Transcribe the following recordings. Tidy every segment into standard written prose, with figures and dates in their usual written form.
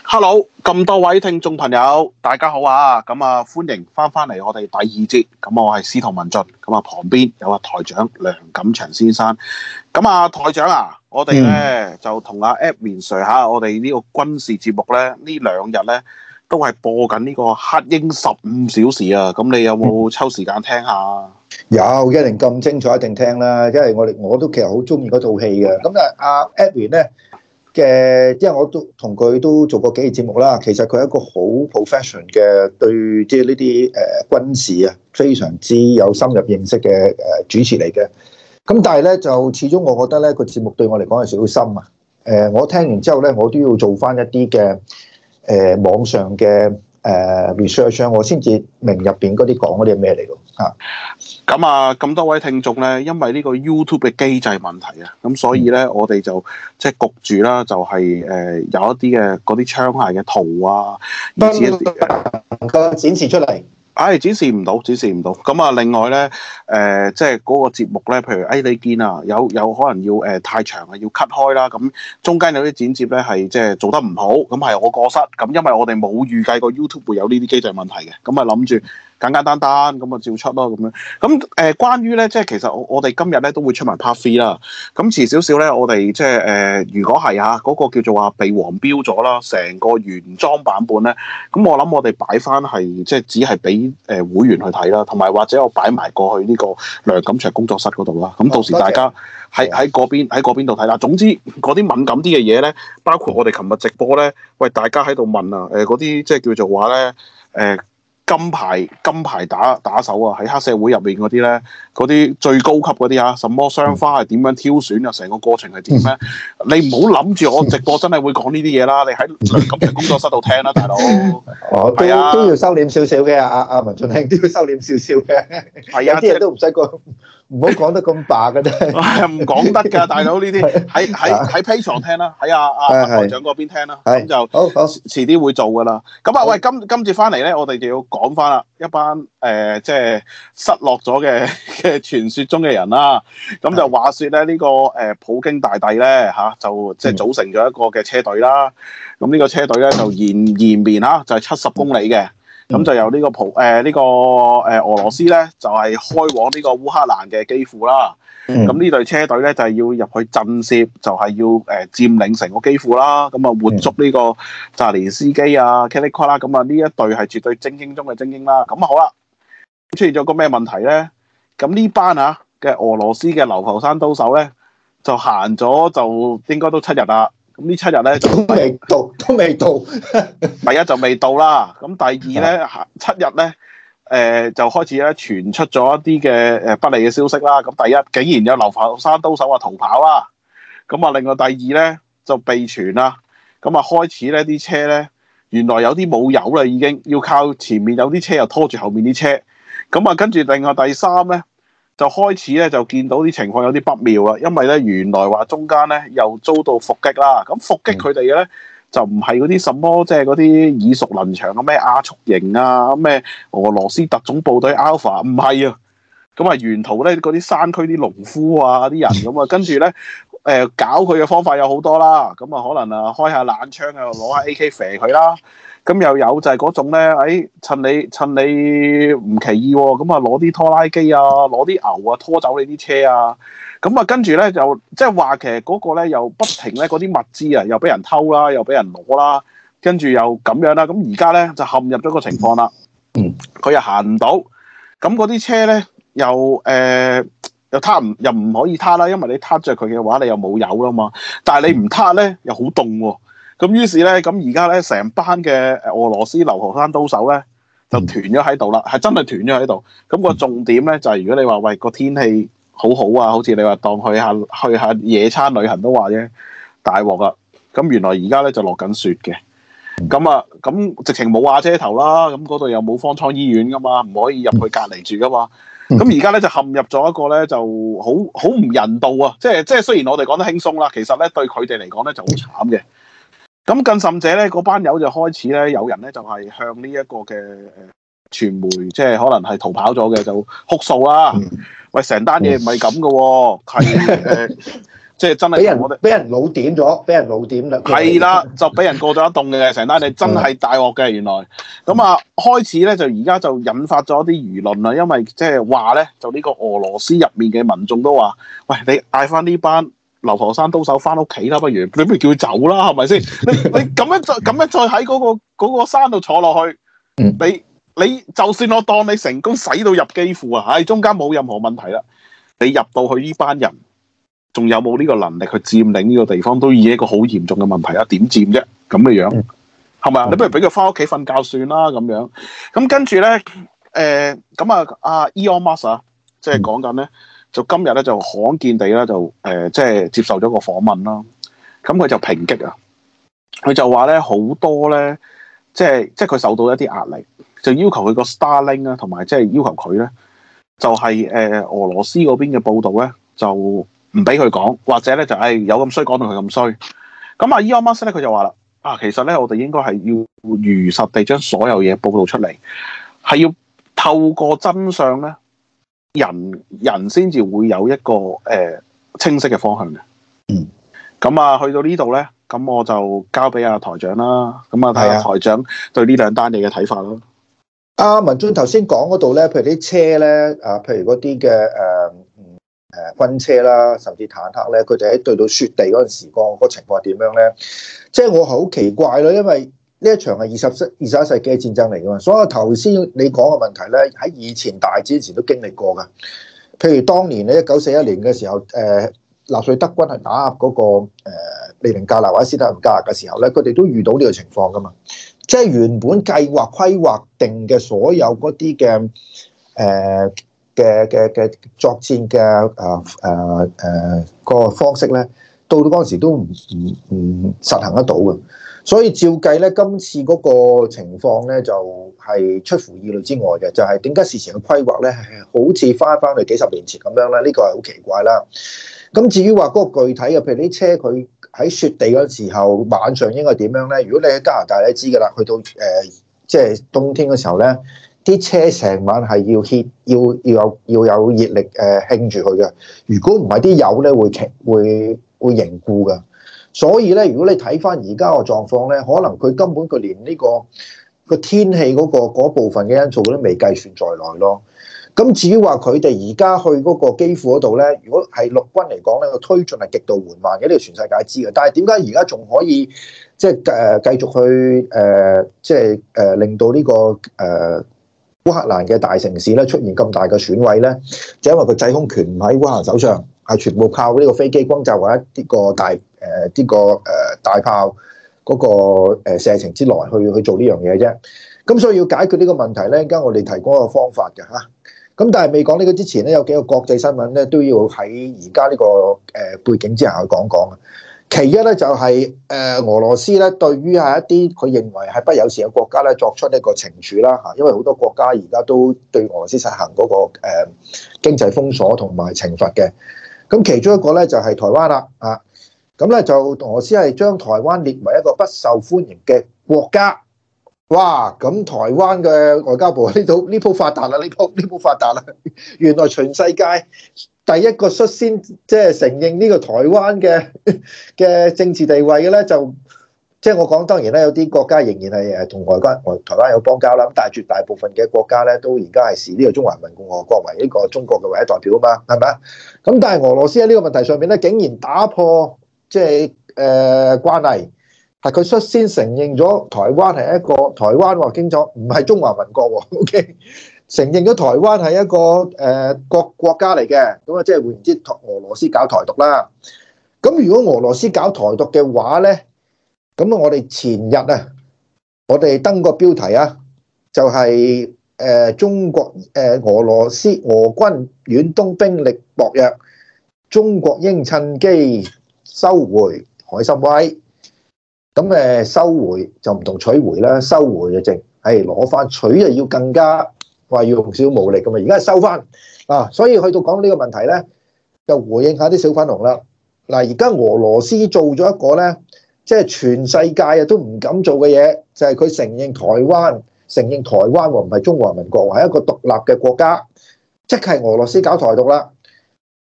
Hello，咁多位聽眾朋友，大家好啊！咁啊，歡迎翻嚟我哋第二節。咁我係司徒文進，咁啊旁邊有台長梁錦祥先生。咁啊，台長啊，我哋咧就同阿 Edwin Sir 嚇，我哋呢個軍事節目咧，呢兩日咧都係播緊呢個黑鷹15小時啊！咁你有冇抽時間聽下？ 有，一定咁精彩，一定聽啦！因為我都其實好中意嗰套戲嘅。咁阿 Edwin 咧嘅，因為我都同佢都做過幾期節目啦。其實佢係一個好 professional 嘅，對即係呢啲軍事啊，非常之有深入認識嘅主持嚟嘅。咁但係咧，就始終我覺得咧個節目對我嚟講係少少深啊。我聽完之後咧，我都要做翻一啲嘅網上嘅research，我先至明入邊嗰啲講嗰啲係咩嚟㗎嚇。 咁啊，咁多位聽眾咧，因為呢個 YouTube 嘅機制問題啊，咁所以咧，我哋就即係焗住啦，就係有一啲嘅嗰啲槍械嘅圖啊，以至一啲能夠展示出嚟。 展示唔到。咁啊，另外咧，即係嗰個節目咧，譬如你見啊，有可能要太長啊，要 cut 開啦。咁中間有啲剪接咧係即係做得唔好，咁係我過失。咁因為我哋冇預計過 YouTube 會有呢啲機制問題嘅，咁啊諗住簡簡單單咁啊照出咯咁樣。咁關於咧，即係其實我哋今日咧都會出埋 part 3啦。咁遲少少咧，我哋即係如果係嗰個叫做話被黃標咗啦，成個原裝版本咧，咁我諗我哋擺翻係即係只係俾會員去睇啦，同埋或者我擺埋過去呢個梁錦祥工作室嗰度啦。咁到時大家喺嗰邊度睇啦。總之嗰啲敏感啲嘅嘢咧，包括我哋琴日直播咧，喂大家喺度問啊，嗰啲即係叫做話咧，金牌打手啊，喺黑社會入面嗰啲咧，嗰啲最高級嗰啲啊，什麼雙花係點樣挑選啊，成個過程係點咧？你唔好諗住我直播真係會講呢啲嘢啦，你喺梁錦祥工作室度聽啦，大佬。 都要收斂少少嘅，阿文進兄都要收斂少少嘅。係啊，有啲嘢都唔使講，唔好講得咁白嘅啫。 唔講得㗎，大佬呢啲喺 Patreon 聽啦，喺阿台長嗰邊聽啦，咁就好遲啲會做㗎啦。咁啊，喂，今次翻嚟咧，我哋就要講翻啦，一班即係失落咗嘅傳說中嘅人啦。咁就話說咧，呢個普京大帝咧就即係組成咗一個嘅車隊啦。咁呢個車隊咧就延綿就係70公里嘅。咁就由呢個俄羅斯咧就係開往呢個烏克蘭嘅基輔啦。咁呢隊車隊咧就係要入去震懾，就係要佔領成個基輔啦。咁啊活捉呢個澤連斯基啊、Kilicko 啦。咁啊呢一隊係絕對精英中嘅精英啦。咁好啦，出現咗個咩問題咧？咁呢班嘅俄羅斯嘅流浮山刀手咧就行咗就應該都7日啦。咁呢7日咧都未到。第一就未到啦。咁第二咧7日咧就開始咧傳出咗一啲嘅不利嘅消息啦。咁第一竟然有流浮山刀手逃跑啦。咁啊另外第二咧就被傳啦。咁啊開始咧啲車咧原來有啲冇油啦，已經要靠前面有啲車又拖住後面啲車。咁啊跟住另外第三咧就開始咧就見到啲情況有啲不妙啦，因為咧原來話中間咧又遭到伏擊啦。咁伏擊佢哋嘅咧就唔係嗰啲什麼即係嗰啲耳熟能詳嘅咩亞速營啊、咩俄羅斯特種部隊 Alpha， 唔係啊。咁啊沿途咧嗰啲山區啲農夫啊啲人咁啊，跟住咧搞佢嘅方法有好多啦。咁啊可能開下冷槍啊，攞下 AK 射佢啦。咁又有就係嗰種咧，趁你唔奇異喎，咁啊攞啲拖拉機啊，攞啲牛啊拖走你啲車啊，咁啊跟住咧就即係話其實嗰個咧又不停咧嗰啲物資啊又俾人偷啦，又俾人攞啦，跟住又咁樣啦，咁而家咧就陷入咗個情況啦。佢又行唔到，咁嗰啲車咧又又唔可以撻啦，因為你撻着佢嘅話，你又冇油啦嘛。但係你唔撻咧又好凍喎。咁於是咧，咁而家咧成班嘅俄羅斯流浮山刀手咧就團咗喺度啦，係真係團咗喺度。咁個重點咧就係如果你話喂個天氣好好啊，好似你話當去下野餐旅行都話啫，大鑊啦！咁原來而家咧就落緊雪嘅。咁直情冇瓦遮頭啦，咁嗰度又冇方艙醫院噶嘛，唔可以入去隔離住噶嘛。咁而家咧就陷入咗一個咧就好唔人道啊！即係雖然我哋講得輕鬆啦，其實咧對佢哋嚟講咧就好慘嘅。咁更甚者咧，嗰班友就開始咧，有人咧就係向呢一個嘅傳媒，即係可能係逃跑咗嘅，就哭訴啦。喂，成單嘢唔係咁嘅喎，係即係真係俾人老點咗，俾人老點啦。 係啦，就俾人過咗一棟嘅成單，你真係大鑊嘅原來。咁啊，開始咧就而家就引發咗啲輿論啦，因為即係話咧，就呢個俄羅斯入面嘅民眾都話：喂，你嗌翻呢班流陀山刀手翻屋企啦，不如你不如叫佢走啦，係咪先？你咁樣再喺嗰個山度坐落去，你就算我當你成功使到入基輔啊，中間冇任何問題啦。你入到去呢班人，仲有冇呢個能力去佔領呢個地方，都已經一個好嚴重嘅問題啊！點佔啫？咁嘅樣係咪啊？你不如俾佢翻屋企瞓覺算啦咁樣。咁跟住咧，咁阿 Elon Musk 啊，即係講緊咧，就今日咧就罕見地咧就即係接受咗個訪問啦。咁佢就抨擊啊，佢就話咧好多咧，即係佢受到一啲壓力，就要求佢個 Starlink 啊，同埋即係要求佢咧，就係俄羅斯嗰邊嘅報導咧，就唔俾佢講，或者咧就有咁衰講到佢咁衰。咁啊 Elon Musk 咧佢就話啦，其實咧我哋應該係要如實地將所有嘢報導出嚟，係要透過真相咧，人先至會有一個清晰嘅方向嘅。咁啊去到呢度咧，咁我就交俾阿台長啦。咁啊睇下台長對呢兩單嘢嘅睇法啦。 文進頭先講嗰度咧，譬如啲車咧，譬如嗰啲嘅軍車啦，甚至坦克咧，佢哋喺對到雪地嗰陣時個情況係點樣咧？即係我好奇怪咯，因為呢一場係21世紀嘅戰爭嚟噶嘛，所以頭先你講嘅問題咧，喺以前大戰之前都經歷過噶。譬如當年咧1941年嘅時候，納粹德軍係打壓嗰個列寧格勒或者斯大林格勒嘅時候咧，佢哋都遇到呢個情況噶嘛。即係原本計劃規劃定嘅所有嗰啲嘅作戰嘅個方式咧，到嗰陣時都唔實行得到嘅。所以照計咧，今次嗰個情況咧就係出乎意料之外嘅，就係點解事前嘅規劃咧係好似翻去幾十年前咁樣咧？呢個係好奇怪啦。咁至於話嗰個具體嘅，譬如啲車佢喺雪地嗰陣時候晚上應該點樣咧？如果你喺加拿大你知㗎啦，去到即係冬天嘅時候咧，啲車成晚係要 heat 要有熱力興住佢嘅。如果唔係啲油咧會凝固㗎。所以咧，如果你睇翻而家個狀況咧，可能佢根本佢連呢個天氣嗰部分嘅因素都未計算在內咯。咁至於話佢哋而家去嗰個基輔嗰度咧，如果係陸軍嚟講咧，個推進係極度緩慢嘅，呢個全世界知嘅。但係點解而家仲可以即係繼續去令到呢個烏克蘭嘅大城市咧出現咁大嘅損毀咧？就因為個制空權唔喺烏克蘭手上，係全部靠呢個飛機轟炸或者呢個大炮嗰個射程之內去做呢樣嘢啫。咁所以要解決呢個問題咧，而家我哋提供一個方法嘅嚇。咁但係未講呢個之前咧，有幾個國際新聞咧都要喺而家呢個背景之下去講講。其一咧就係俄羅斯咧對於係一啲佢認為係不友善嘅國家咧作出一個懲處啦嚇，因為好多國家而家都對俄羅斯實行嗰個經濟封鎖同埋懲罰嘅。咁其中一個咧就係台灣啦啊，咁咧就俄羅斯係將台灣列為一個不受歡迎嘅國家。哇！咁台灣嘅外交部呢鋪發達啦，呢鋪發達啦！原來全世界第一個率先即係承認呢個台灣嘅政治地位嘅咧，就即係我講當然咧，有啲國家仍然係同台灣有邦交啦。咁但係絕大部分嘅國家咧，都而家係視呢個中華人民共和國為呢個中國嘅唯一代表啊嘛，係咪啊？咁但係俄羅斯喺呢個問題上面咧，竟然打破即係慣例。係佢率先承認咗台灣係一個台灣話清楚，唔係中華民國喎。OK，承認咗台灣係一個國家嚟嘅，咁啊即係換言之，俄羅斯搞台獨啦。咁如果俄羅斯搞台獨嘅話咧，咁我哋前日啊，我哋登個標題啊，就係中國俄羅斯俄軍遠東兵力薄弱，中國應趁機收回海參崴。咁收回就唔同取回啦，收回就淨係攞翻，取就要更加話要用少少武力咁嘛。而家收翻啊，所以去到講呢個問題咧，就回應下啲小粉紅啦。嗱，而家俄羅斯做咗一個咧，即係全世界啊都唔敢做嘅嘢，就係佢承認台灣喎，唔係中華民國，係一個獨立嘅國家，即係俄羅斯搞台獨啦。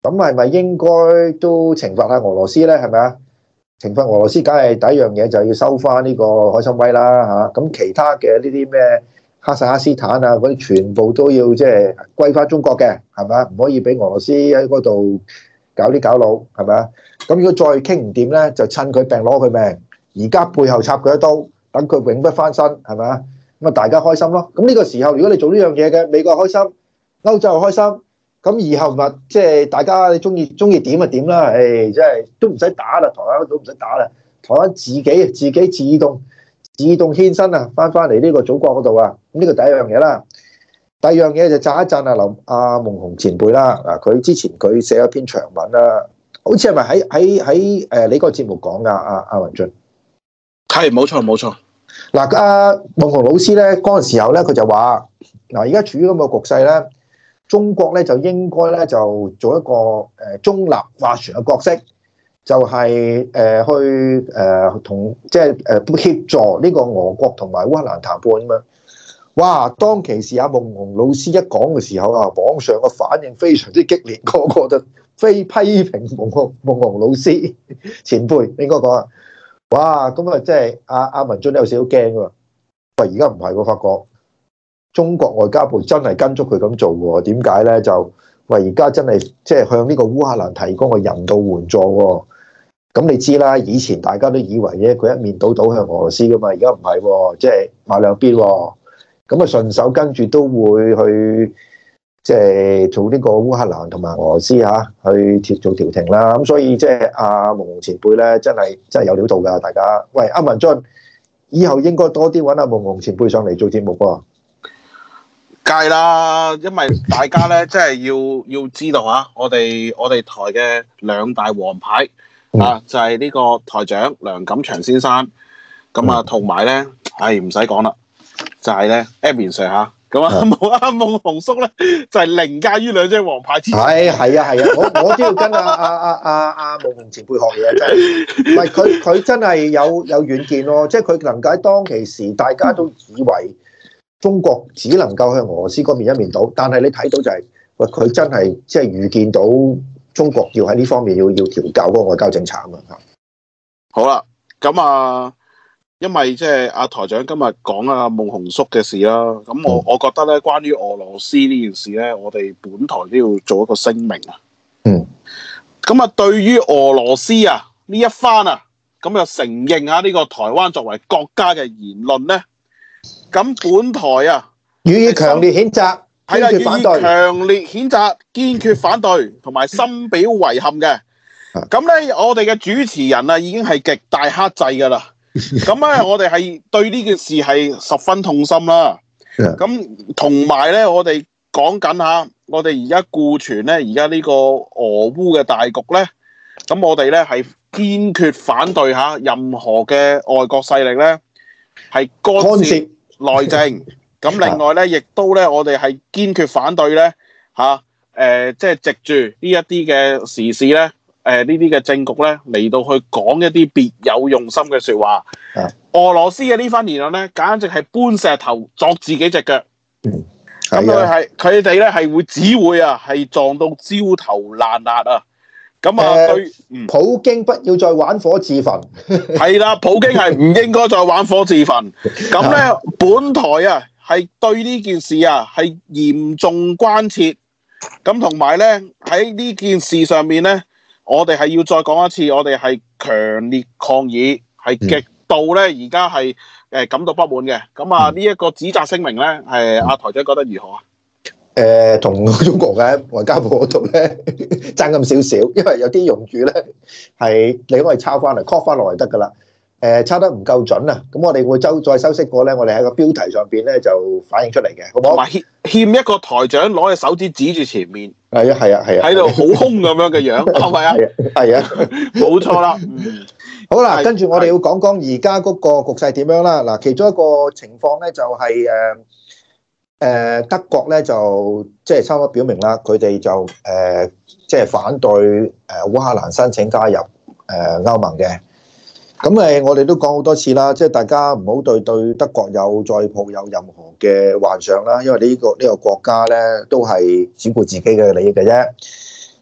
咁係咪應該都懲罰下俄羅斯咧？係咪啊？懲罰俄羅斯，梗係第一樣嘢就要收翻呢個海參崴啦嚇。咁其他嘅呢啲咩哈薩克斯坦啊嗰啲，全部都要即係歸翻中國嘅，係咪啊？唔可以俾俄羅斯喺嗰度搞啲搞佬，係咪啊？咁如果再傾唔掂咧，就趁佢病攞佢命，而家背後插佢一刀，等佢永不翻身，係咪啊？咁啊，大家開心咯。咁呢個時候，如果你做呢樣嘢嘅，美國開心，歐洲又開心。咁以後咪即係大家你中意點就點啦，誒，即係都唔使打啦，台灣都唔使打啦，台灣自己自動獻身啊，翻嚟呢個祖國嗰度啊，咁呢個第一樣嘢啦。第二樣嘢就讚一讚阿夢熊前輩啦，嗱，佢之前佢寫咗篇長文啦，好似係咪喺你個節目講噶？阿文進係冇錯。 嗱，阿夢熊老師咧嗰陣時候咧，佢就話嗱，而家處於咁嘅局勢咧。中國咧就應該咧就做一個中立斡旋嘅角色，就係去同即係協助呢個俄國同埋烏克蘭談判咁樣。哇！當其時阿夢熊老師一講嘅時候啊，網上嘅反應非常之激烈，個個就非批評夢熊老師前輩應該講啊。哇！咁啊，即係阿文進有少少驚喎。喂，而家唔係喎，發覺。中國外交部真係跟足佢咁做喎？點解咧？就喂，而家真係即係向呢個烏克蘭提供個人道援助喎。咁你知啦，以前大家都以為咧佢一面倒向俄羅斯噶嘛，而家唔係喎，即係買兩邊喎。咁啊順手跟住都會去即係做呢個烏克蘭同埋俄羅斯嚇去做調停啦。咁所以即係阿夢熊前輩咧，真係有料到㗎，大家。喂，阿文進，以後應該多啲揾阿夢熊前輩上嚟做節目喎。 梗係啦，因為大家咧，即係要知道嚇，我哋台嘅兩大王牌啊，就係呢個台長梁錦祥先生，咁啊，同埋咧，唔使講啦，就係咧 Edwin Sir 嚇，咁啊夢熊叔咧，就係凌駕於兩張王牌之上。 係啊，我都要跟阿夢熊前輩學嘢，真係，唔係佢真係有遠見咯，即係佢能夠喺當其時，大家都以為。中國只能夠向俄羅斯嗰邊一面倒，但係你睇到就係、是，喂，佢真係即係預見到中國要喺呢方面要調校嗰個外交政策啊嘛嚇。 好啦，咁啊，因為即係阿台長今日講阿夢熊叔嘅事啦，咁我覺得咧，關於俄羅斯呢件事咧，我哋本台都要做一個聲明啊。咁啊，對於俄羅斯啊呢一番啊，咁又承認下呢個台灣作為國家嘅言論咧。咁本台啊， 予以強烈譴責， 係啦，予以強烈譴責，堅決反對，同埋深表遺憾嘅。咁咧，我哋嘅主持人啊，已經係極大克制噶啦。咁咧，我哋係對呢件事係十分痛心啦。咁同埋咧，我哋講緊下，我哋而家顧全咧，而家呢個俄烏嘅大局咧，咁我哋咧係堅決反對下任何嘅外國勢力咧係干涉內政，咁另外咧，亦都咧，我哋係堅決反對咧即係藉住呢一啲嘅時事咧，呢啲嘅政局咧嚟到去講一啲別有用心嘅説話。俄羅斯嘅呢番言論咧，簡直係搬石頭鑿自己隻腳。咁佢哋咧係會只會啊係撞到焦頭爛額啊！咁啊，對普京不要再玩火自焚。 係啦，普京係唔應該再玩火自焚。咁咧，本台啊係對呢件事啊係嚴重關切。咁同埋咧喺呢件事上面咧，我哋係要再講一次，我哋係強烈抗議，係極度咧而家係感到不滿嘅。咁啊，呢一個指責聲明咧，係阿台長覺得如何啊？ 同中國嘅外交部嗰度咧爭咁少少，因為有啲用語咧係你可以抄翻嚟 copy 翻落嚟得噶啦。抄得唔夠準啊，咁我哋會再修飾過咧，我哋喺個標題上邊咧就反映出嚟嘅，好唔好？ 同埋欠一個台長攞隻手指指住前面， 係啊， 喺度好兇咁樣嘅樣，係咪啊？ 係啊， 冇錯啦。 好啦，跟住我哋要講講而家嗰個局勢點樣啦。嗱，其中一個情況咧就係德國咧就即係差唔多表明啦，佢哋就即係反對烏克蘭申請加入歐盟嘅。咁我哋都講好多次啦，即係大家唔好對德國再抱有任何嘅幻想啦，因為呢個國家咧都係只顧自己嘅利益嘅啫。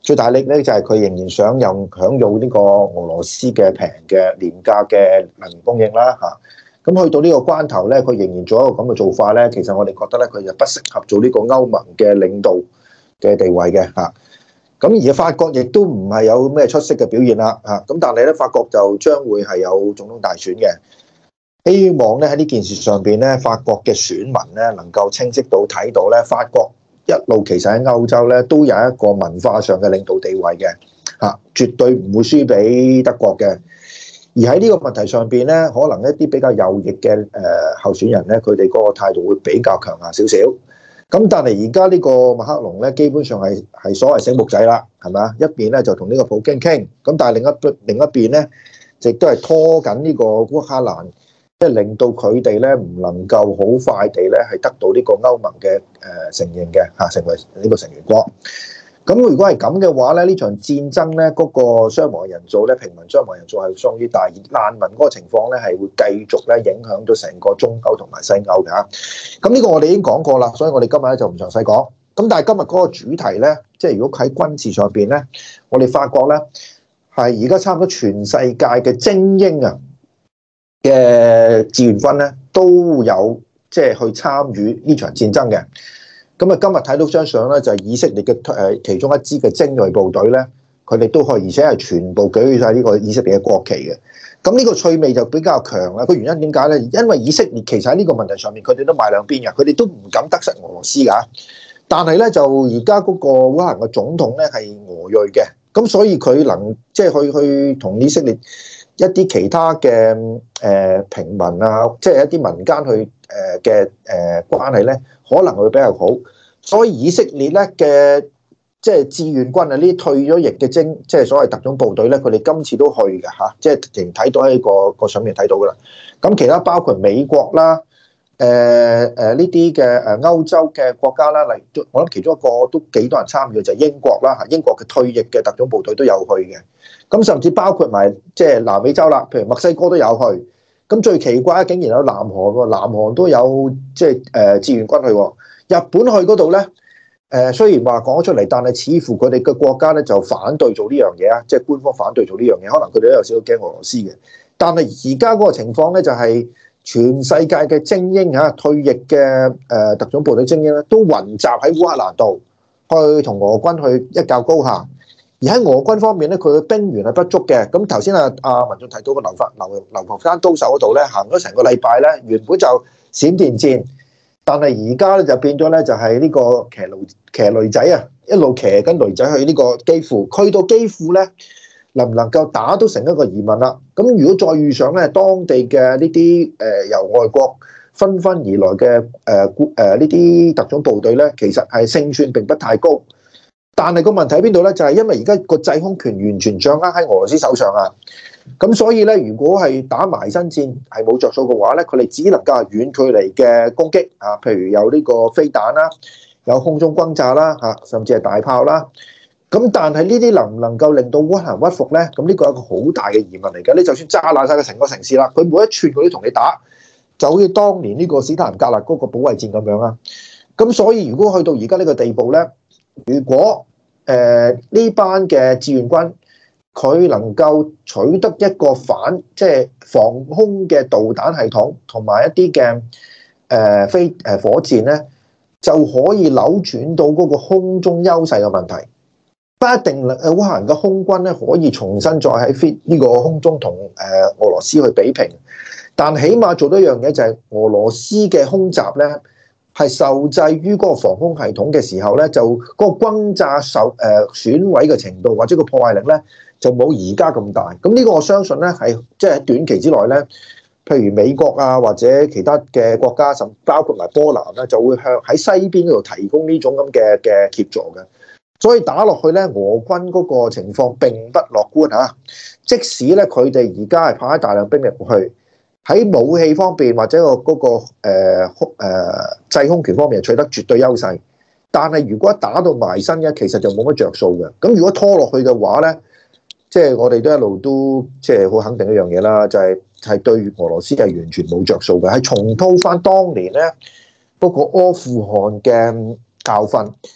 最大力咧就係佢仍然想享有呢個俄羅斯嘅平嘅廉價嘅能源供應啦嚇。咁去到呢個關頭咧，佢仍然做一個咁嘅做法咧，其實我哋覺得咧，佢就不適合做呢個歐盟嘅領導嘅地位嘅嚇。咁而法國亦都唔係有咩出色嘅表現啦嚇。咁但係咧，法國就將會係有總統大選嘅。希望咧喺呢件事上邊咧，法國嘅選民咧能夠清晰到睇到咧，法國一路其實喺歐洲咧都有一個文化上嘅領導地位嘅嚇，絕對唔會輸俾德國嘅。而喺呢個問題上邊咧，可能一啲比較右翼嘅候選人咧，佢哋嗰個態度會比較強硬少少。咁但係而家呢個馬克龍咧，基本上係所謂醒目仔啦，係咪啊？一邊咧就同呢個普京傾，咁但係另一邊咧，亦都係拖緊呢個烏克蘭。即係令到佢哋咧唔能夠好快地咧係得到呢個歐盟嘅承認嘅嚇，成為呢個成員國。咁如果係咁嘅話咧，呢場戰爭咧嗰個傷亡人數咧，平民傷亡人數係相當於大，而難民嗰個情況咧係會繼續咧影響到成個中歐同埋西歐嘅嚇。咁呢個我哋已經講過啦，所以我哋今日咧就唔詳細講。咁但係今日嗰個主題咧，即係如果喺軍事上邊咧，我哋發覺咧係而家差唔多全世界嘅精英啊嘅志願軍咧都有即係去參與呢場戰爭嘅。咁啊，今日睇到張相咧，就係以色列嘅其中一支嘅精鋭部隊咧，佢哋都可以，而且係全部舉起晒呢個以色列嘅國旗嘅。咁呢個趣味就比較強啦。個原因點解咧？因為以色列其實喺呢個問題上面，佢哋都買兩邊嘅，佢哋都唔敢得失俄羅斯㗎。但係咧，就而家嗰個烏克蘭嘅總統咧係俄裔嘅，咁所以佢能即係去同以色列一啲其他嘅平民啊，即係一啲民間去嘅關係咧，可能會比較好。所以以色列咧嘅即係志願軍啊，呢啲退咗役嘅即係所謂特種部隊咧，佢哋今次都去嘅嚇，即係仍睇到喺個相面睇到噶啦。咁其他包括美國啦，呢啲嘅歐洲嘅國家啦，例如我諗其中一個都幾多人參與嘅就係英國啦嚇，英國嘅退役嘅特種部隊都有去嘅。咁甚至包括埋即係南美洲啦，譬如墨西哥都有去。咁最奇怪竟然有南韓喎，南韓都有即係志願軍去喎。日本去嗰度咧，雖然話講咗出嚟，但係似乎佢哋嘅國家咧就反對做呢樣嘢啊，即係官方反對做呢樣嘢，可能佢哋都有少少驚俄羅斯嘅。但係而家嗰個情況咧，就係全世界嘅精英嚇退役嘅特種部隊精英咧，都雲集喺烏克蘭度，去同俄軍去一較高下。而喺俄軍方面咧，佢嘅兵源係不足嘅。咁頭先阿文進提到個流浮山刀手嗰度咧，行咗成個禮拜咧，原本就閃電戰，但係而家咧就變咗咧，就係呢個騎驢仔啊，一路騎緊驢仔去呢個基輔，去到基輔咧，能唔能夠打都成一個疑問啦。咁如果再遇上咧當地嘅呢啲由外國紛紛而來嘅呢啲特種部隊咧，其實係勝算並不太高。但係個問題喺邊度咧？就係因為而家個制空權完全掌握喺俄羅斯手上啊！咁所以咧，如果係打埋身戰係冇着數嘅話咧，佢哋只能夠係遠距離嘅攻擊啊，譬如有呢個飛彈啦，有空中轟炸啦，嚇，甚至係大炮啦。咁但係呢啲能唔能夠令到烏克蘭屈服咧？咁呢個係一個好大嘅疑問嚟嘅。你就算炸爛晒個成個城市啦，佢每一寸佢都同你打，就好似當年呢個史太林格勒嗰個保衛戰咁樣啦。咁所以如果去到而家呢個地步咧，如果呢班嘅志願軍佢能夠取得一個即係防空嘅導彈系統同埋一啲嘅火箭咧，就可以扭轉到嗰個空中優勢嘅問題。不一定烏克蘭嘅空軍咧可以重新再喺呢個空中同俄羅斯去比拼，但起碼做到一樣嘢就係俄羅斯嘅空襲咧，係受制於嗰個防空系統嘅時候咧，就嗰個轟炸損毀嘅程度或者個破壞力咧，就冇而家咁大。咁呢個我相信咧係即係喺短期之內咧，譬如美國啊或者其他嘅國家，甚至包括埋波蘭咧，就會向喺西邊嗰度提供呢種咁嘅協助嘅。所以打落去咧，俄軍嗰個情況並不樂觀嚇。即使咧佢哋而家係派大量兵力去。喺武器方面或者嗰個制空權方面取得絕對優勢，但係如果打到埋身嘅，其實就冇乜着數嘅。咁如果拖落去嘅話咧，即係我哋都一路都即係好肯定一樣嘢啦，就係對俄羅斯係完全冇着數嘅，係重蹈翻當年咧嗰個阿富汗嘅教訓。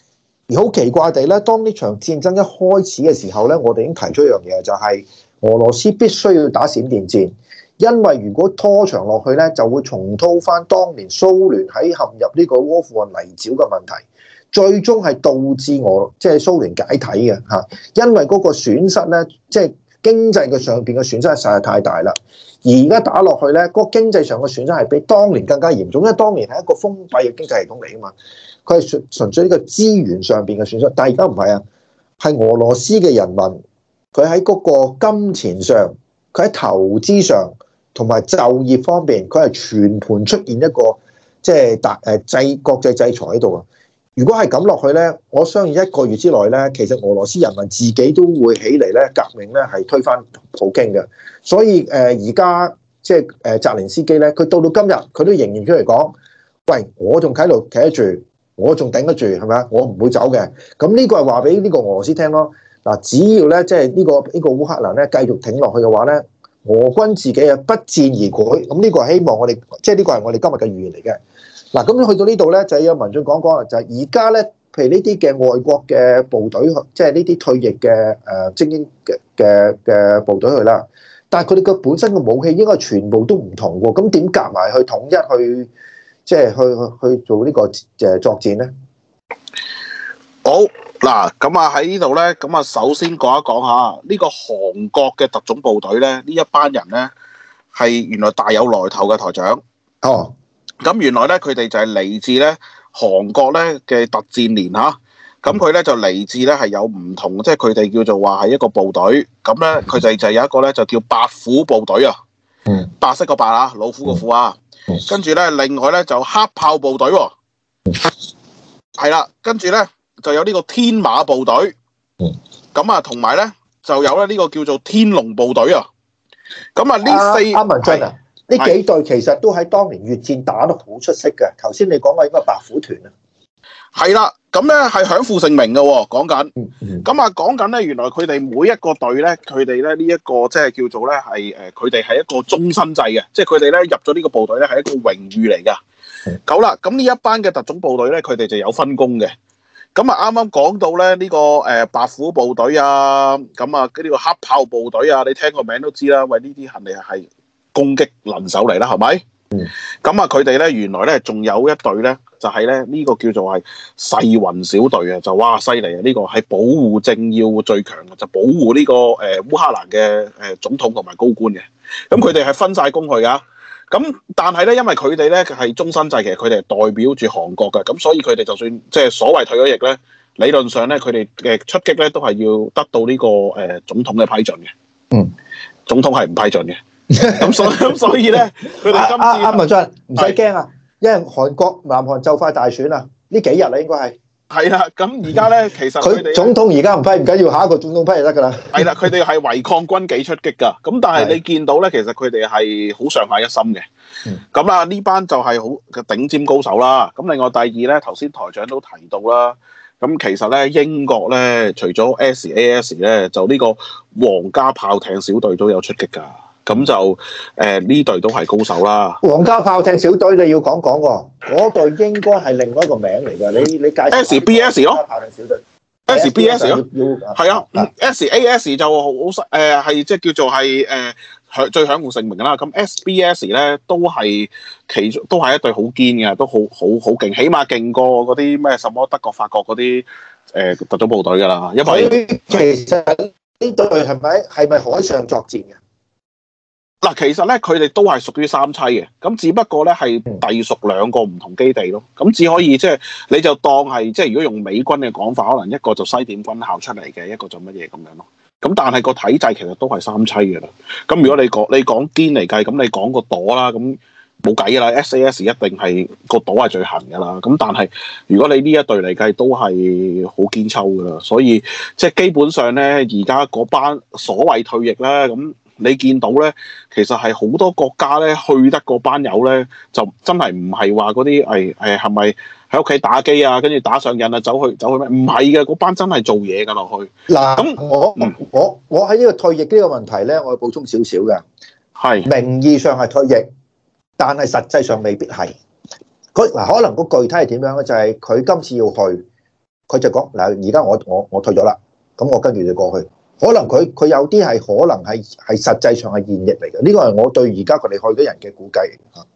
而好奇怪地咧，當呢場戰爭一開始嘅時候咧，我哋已經提出一樣嘢，就係俄羅斯必須要打閃電戰，因為如果拖長落去咧，就會重蹈翻當年蘇聯喺陷入呢個阿富汗泥沼嘅問題，最終係導致即係蘇聯解體嘅嚇，因為嗰個損失咧，即係經濟嘅上邊嘅損失實在太大啦。而而家打落去咧，嗰個經濟上嘅損失係比當年更加嚴重，因為當年係一個封閉嘅經濟系統嚟啊嘛。佢係純粹呢個資源上邊嘅損失，但係而家唔係啊，係俄羅斯嘅人民，佢喺嗰個金錢上，佢喺投資上，同埋就業方面，佢係全盤出現一個即係國際制裁喺度啊！如果係咁落去咧，我相信一個月之內咧，其實俄羅斯人民自己都會起嚟咧，革命咧係推翻普京嘅。所以而家即係澤連斯基咧，佢到今日佢都仍然出嚟講，喂，我仲喺度企得住。我仲頂得住，係咪啊？我唔會走嘅。咁呢個係話俾呢個俄羅斯聽咯。嗱，只要咧即係呢個烏克蘭咧繼續挺落去嘅話咧，俄軍自己啊不戰而潰。咁呢個係希望我哋，即係呢個係我哋今日嘅預言嚟嘅。嗱，咁去到呢度咧就有文進講講啦，就係而家咧，譬如呢啲嘅外國嘅部隊，即係呢啲退役嘅精英嘅部隊去啦。但係佢哋嘅本身嘅武器應該全部都唔同喎。咁點夾埋去統一去？即係去做呢個作戰咧。 好嗱，咁啊喺呢度咧，咁啊首先講一講下呢個韓國嘅特種部隊咧，呢一班人咧係原來大有來頭嘅台長。 哦， 咁原來咧佢哋就係嚟自咧韓國咧嘅特戰連嚇。咁佢咧就嚟自咧係有唔同，即係佢哋叫做話係一個部隊。咁咧佢哋就有一個咧就叫白虎部隊啊。白色個白啊，老虎個虎啊。跟住咧，另外咧就黑豹部隊喎，係啦，跟住咧就有呢個天馬部隊，咁啊同埋咧就有咧呢個叫做天龍部隊啊，咁啊呢四文進啊，呢幾隊其實都喺當年越戰打得好出色嘅。頭先你講嘅應該白虎團啊， 係啦，咁咧係享負盛名嘅喎，講緊，咁啊講緊咧原來佢哋每一個隊咧，佢哋咧呢一個即係叫做咧係佢哋係一個終身制嘅，即係佢哋咧入咗呢個部隊咧係一個榮譽嚟㗎。好啦，咁呢一班嘅特種部隊咧，佢哋就有分工嘅。咁啊啱啱講到咧呢個白虎部隊啊，咁啊呢個黑豹部隊啊，你聽個名都知啦，喂呢啲肯定係攻擊能手嚟啦，係咪？咁啊佢哋咧原來咧仲有一隊咧。就係咧呢個叫做係世雲小隊啊，就哇犀利啊！呢個係保護政要最強嘅，就保護呢個烏克蘭嘅總統同埋高官嘅。咁佢哋係分晒工去㗎。咁但係咧，因為佢哋咧係終身制，其實佢哋係代表住韓國嘅。咁所以佢哋就算即係所謂退咗役咧，理論上咧佢哋嘅出擊咧都係要得到呢個總統嘅批准嘅。總統係唔批准嘅。咁所以咧，佢哋今次文進唔使驚啊！因為韓國南韓就快大選啦，呢幾日啦應該係啦。咁而家咧，其實佢哋總統而家唔批唔緊要，下一個總統批就得㗎啦。係啦，佢哋係違抗軍紀出擊㗎。咁但係你見到咧，其實佢哋係好上下一心嘅。咁啊，呢班就係好嘅頂尖高手啦。咁另外第二咧，頭先台長都提到啦。咁其實咧，英國咧，除咗 SAS 咧，就呢個皇家炮艇小隊都有出擊㗎。咁就呢隊都係高手啦。 皇家炮艇小隊你要講講喎，嗰隊應該係另外一個名嚟㗎。你介紹 SBS 咯， 炮艇小隊 SBS 咯，係啊，SAS 就好係即係叫做係最享負盛名啦。咁 SBS 咧都係都係一隊好堅嘅，都好勁，起碼勁過嗰啲咩什麼德國、法國嗰啲特種部隊㗎啦。因為其實呢隊係咪海上作戰嘅？ 嗱，其實咧，佢哋都係屬於三棲嘅，咁只不過咧係隸屬兩個唔同基地咯。咁只可以即係你就當係即係如果用美軍嘅講法，可能一個就西點軍校出嚟嘅，一個就乜嘢咁樣咯。咁但係個體制其實都係三棲嘅啦。咁如果你講堅嚟計，咁你講個朵啦，咁冇計㗎啦。SAS 一定係個朵係最行㗎啦。咁但係如果你呢一隊嚟計，都係好堅抽㗎啦。所以即係基本上咧，而家嗰班所謂退役咧，咁。你見到咧，其實係好多國家咧去得嗰班友咧，就真係唔係話嗰啲係咪喺屋企打機啊，跟住打上癮啊，走去咩？唔係嘅，嗰班真係做嘢㗎落去。嗱，咁我喺呢個退役呢個問題咧，我要補充少少嘅。係名義上係退役，但係實際上未必係。可能個具體係點樣咧？就係佢今次要去， 佢就講嗱，而家我退咗啦，咁我跟住就過去。可能佢有啲係可能係實際上係現役嚟嘅，呢個係我對而家佢哋去嘅人嘅估計嚇。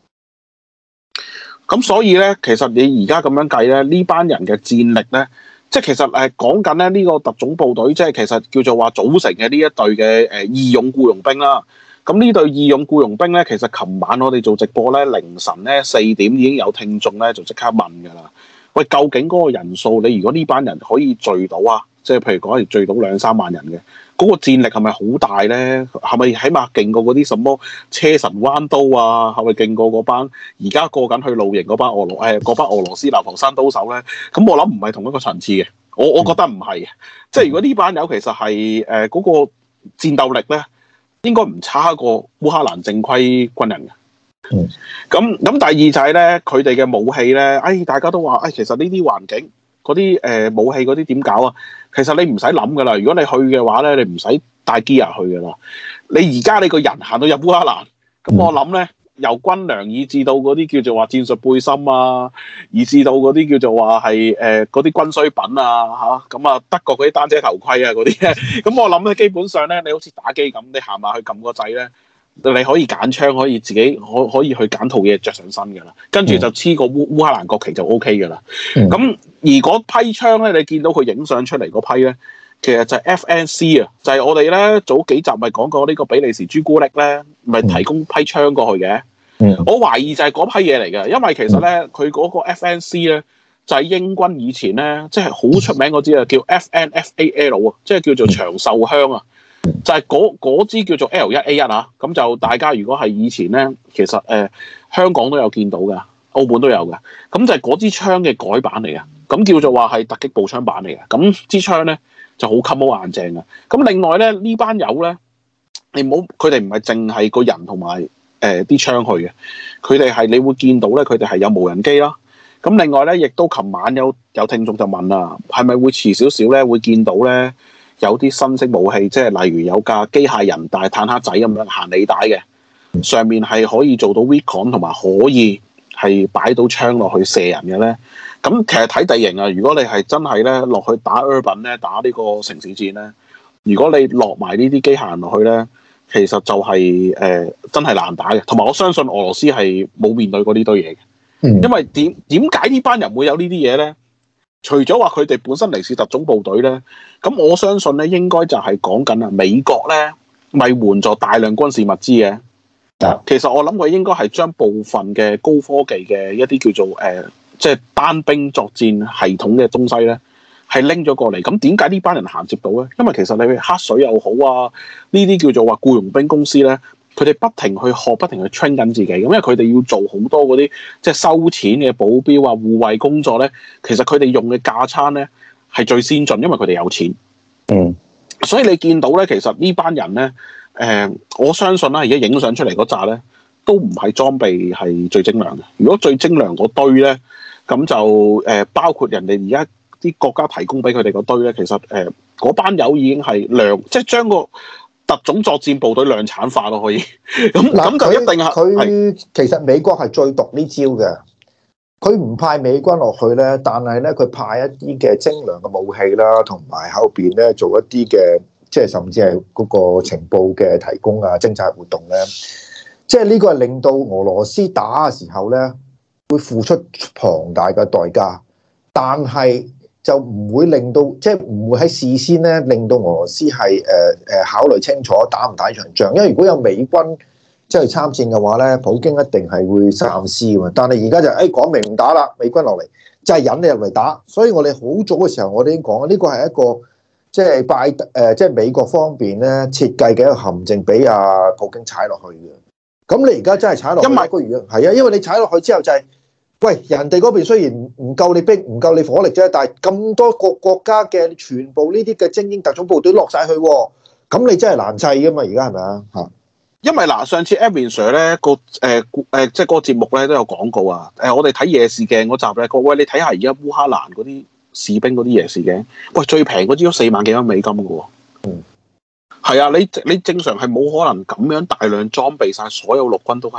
咁所以咧，其實你而家咁樣計咧，呢班人嘅戰力咧，即係其實講緊咧呢個特種部隊，即係其實叫做話組成嘅呢一隊嘅義勇僱傭兵啦。咁呢隊義勇僱傭兵咧，其實琴晚我哋做直播咧，凌晨咧4點已經有聽眾咧就即刻問㗎啦。喂，究竟嗰個人數，你如果呢班人可以聚到啊，即係譬如講係聚到2-3萬人嘅，嗰個戰力係咪好大咧？係咪起碼勁過嗰啲什麼車神彎刀啊？係咪勁過嗰班而家過緊去露營嗰班俄羅斯流浮山刀手咧？咁我諗唔係同一個層次嘅，我覺得唔係嘅。即係如果呢班友其實係嗰個戰鬥力咧，應該唔差過烏克蘭正規軍人嘅。咁第二就係咧，佢哋嘅武器咧，大家都話，其實呢啲環境嗰啲武器嗰啲點搞啊？其實你唔使諗噶啦，如果你去嘅話咧，你唔使帶 gear 去噶啦。你而家你個人行到入烏克蘭，咁我諗咧，由軍糧以至到嗰啲叫做話戰術背心啊，以至到嗰啲叫做話係嗰啲軍需品啊咁啊德國嗰啲單車頭盔啊嗰啲咧，咁我諗咧基本上咧，你好似打機咁，你行埋去撳個掣咧。你可以揀槍，可以自己可以去揀套嘢着上身㗎啦，跟住就黐個烏克蘭國旗就 O K 㗎啦。咁而嗰批槍咧，你見到佢影相出嚟嗰批咧，其實就係 FNC 啊，就係我哋咧早幾集咪講過呢個比利時朱古力咧，咪提供批槍過去嘅。我懷疑就係嗰批嘢嚟嘅，因為其實咧佢嗰個 FNC 咧就係英軍以前咧即係好出名嗰支啊，叫 FNFAL 啊，即係叫做長壽香啊。就係嗰支叫做 L1A1啊，咁就大家如果係以前咧，其實香港都有見到嘅，澳門都有嘅，咁就係嗰支槍嘅改版嚟嘅，咁叫做話係突擊步槍版嚟嘅，咁支槍咧就好襟好硬正嘅。咁另外咧呢班友咧，你唔好佢哋唔係淨係個人同埋啲槍去嘅，佢哋係你會見到咧，佢哋係有無人機啦。咁另外咧，亦都琴晚有聽眾就問啦，係咪會遲少少咧會見到咧？有啲新式武器，即係例如有架機械人大坦克仔咁樣行履帶嘅，上面係可以做到 recon 同埋可以係擺到槍落去射人嘅咧。咁其實睇地形啊，如果你係真係咧落去打 urban 咧，打呢個城市戰咧，如果你落埋呢啲機械人落去咧，其實就係、真係難打嘅。同埋我相信俄羅斯係冇面對過呢堆嘢嘅，因為點解呢班人會有呢啲嘢咧？除咗話佢哋本身嚟自特種部隊咧，咁我相信咧應該就係講緊啊美國咧咪援助大量軍事物資嘅。其實我諗佢應該係將部分嘅高科技嘅一啲叫做即係單兵作戰系統嘅東西咧，係拎咗過嚟。咁點解呢班人銜接到咧？因為其實你黑水又好啊，呢啲叫做話僱傭兵公司咧。佢哋不停去學，不停去 train 緊自己，咁因為佢哋要做好多嗰啲即係收錢嘅保鏢啊、護衛工作咧。其實佢哋用嘅架撐咧係最先進，因為佢哋有錢。所以你見到咧，其實呢班人咧，我相信啦，而家影相出嚟嗰扎咧，都唔係裝備係最精良嘅。如果最精良嗰堆咧，咁就包括人哋而家啲國家提供俾佢哋嗰堆咧，其實嗰班友已經係即係將個特種作戰部隊量產化咯，可以咁就一定係佢其實美國係最毒呢招嘅，佢唔派美軍落去咧，但係咧佢派一啲嘅精良嘅武器啦，同埋後邊咧做一啲嘅即係甚至係嗰個情報嘅提供啊、偵察活動咧，即係呢個係令到俄羅斯打嘅時候咧會付出龐大嘅代價，但係就唔會令到，即係唔會喺事先咧令到俄羅斯係考慮清楚打唔打呢場仗，因為如果有美軍即係參戰嘅話咧，普京一定係會三思嘅。但係而家就講明唔打啦，美軍落嚟就係引你入嚟打。所以我哋好早嘅時候我哋已經講，呢個係一個即係即係美國方面咧設計嘅一個陷阱，俾阿普京踩落去嘅。咁你而家真係踩落去，因為因為你踩落去之後就係。喂，人哋嗰邊雖然唔夠你兵，唔夠你火力啫，但係咁多個國家嘅全部呢啲嘅精英特種部隊落晒去，咁你真係難制噶嘛？而家係咪啊？嚇！ 因為嗱，上次 Edwin Sir 咧即係嗰個節目咧都有講過啊。我哋睇夜視鏡嗰集咧，各位你睇下而家烏克蘭嗰啲士兵嗰啲夜視鏡，喂最平嗰支都4萬幾蚊美金嘅喎。係啊，你正常係冇可能咁樣大量裝備晒所有陸軍都係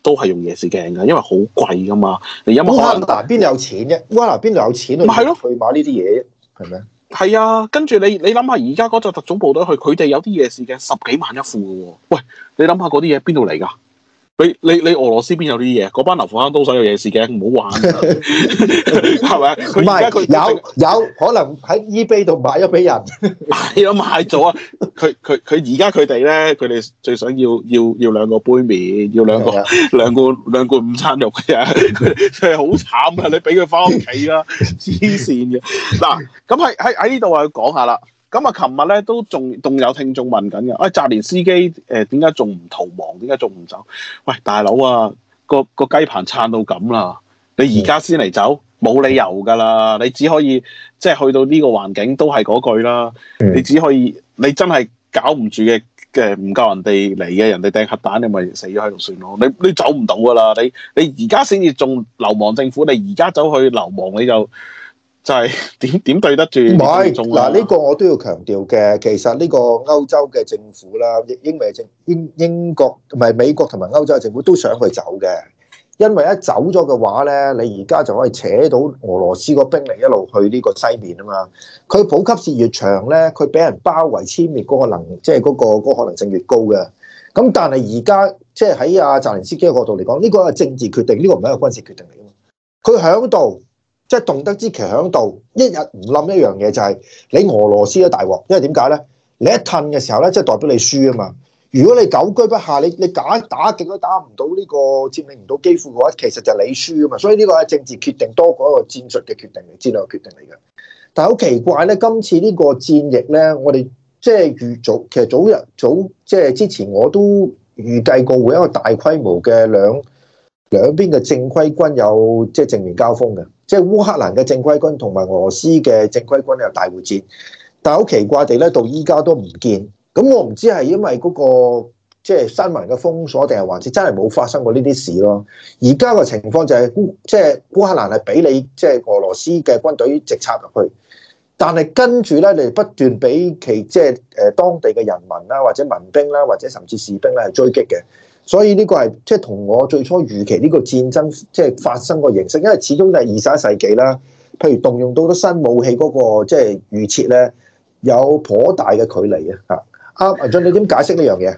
都係用夜視鏡㗎，因為好貴㗎嘛。你有冇可能邊度有錢啫？烏克蘭邊度有錢去買呢啲嘢？係咪？ 係啊，跟住你諗下，而家嗰隻特種部隊去，佢哋有啲夜視鏡10幾萬一副嘅喎。喂，你諗下嗰啲嘢邊度嚟㗎？你俄羅斯邊有啲嘢？嗰班流浮坑都使有夜視鏡，唔好玩，係咪？ 唔係有可能喺 eBay 度買咗俾人， 係啊，買咗啊！佢而家佢哋最想要2個杯麵，要兩罐午餐肉嘅啫，佢係好慘啊！你俾佢翻屋企啦，黐線嘅嗱。咁喺呢度我要講下啦。咁啊，琴日咧都仲有聽眾問緊嘅，澤連斯基點解仲唔逃亡？點解仲唔走？喂，大佬啊，個雞棚撐到咁啦，你而家先嚟走，冇理由㗎啦！你只可以即係去到呢個環境都係嗰句啦，你只可以你真係搞唔住嘅唔夠人哋嚟嘅，人哋掟核彈，你咪死咗喺度算咯。你走唔到㗎啦！你而家先至仲流亡政府，你而家走去流亡你就係點對得住？唔係嗱，呢個我都要強調嘅。其實呢個歐洲嘅政府啦，英國同埋美國同埋歐洲嘅政府都想佢走嘅，因為一走咗嘅話咧，你而家就可以扯到俄羅斯個兵力一路去呢個西面啊嘛。佢補給線越長咧，佢俾人包圍殲滅嗰個即係嗰個可能性越高嘅。咁但係而家即係喺阿澤連斯基嘅角度嚟講，呢個係政治決定，呢個唔係一個軍事決定嚟㗎嘛。佢響度。即係動得之旗響度，一日唔冧一樣嘢就係你俄羅斯都大鑊，因為點解咧？你一褪嘅時候咧，即係代表你輸啊嘛。如果你久居不下，你打極都打唔到呢個佔領唔到基輔嘅話，其實就係你輸啊嘛。所以呢個係政治決定多過一個戰術嘅決定嚟，戰略決定嚟嘅。但係好奇怪咧，今次呢個戰役咧，我哋即係其實早即係之前我都預計過會有一個大規模嘅兩邊嘅正規軍有即係正面交鋒嘅。即係烏克蘭嘅正規軍同埋俄羅斯嘅正規軍有大會戰，但係好奇怪地咧，到依家都唔見。咁我唔知係因為嗰個即係新聞嘅封鎖，定係還是真係冇發生過呢啲事咯。而家個情況就係即係烏克蘭係俾你即係俄羅斯嘅軍隊直插入去，但係跟住咧，你不斷俾其即係當地嘅人民啦，或者民兵啦，或者甚至士兵咧係追擊嘅。所以呢個係即係同我最初預期呢個戰爭即係發生個形式，因為始終都係21世紀啦。譬如動用到啲新武器嗰個即係預設咧，有頗大嘅距離啊！阿文進，你點解釋呢樣嘢？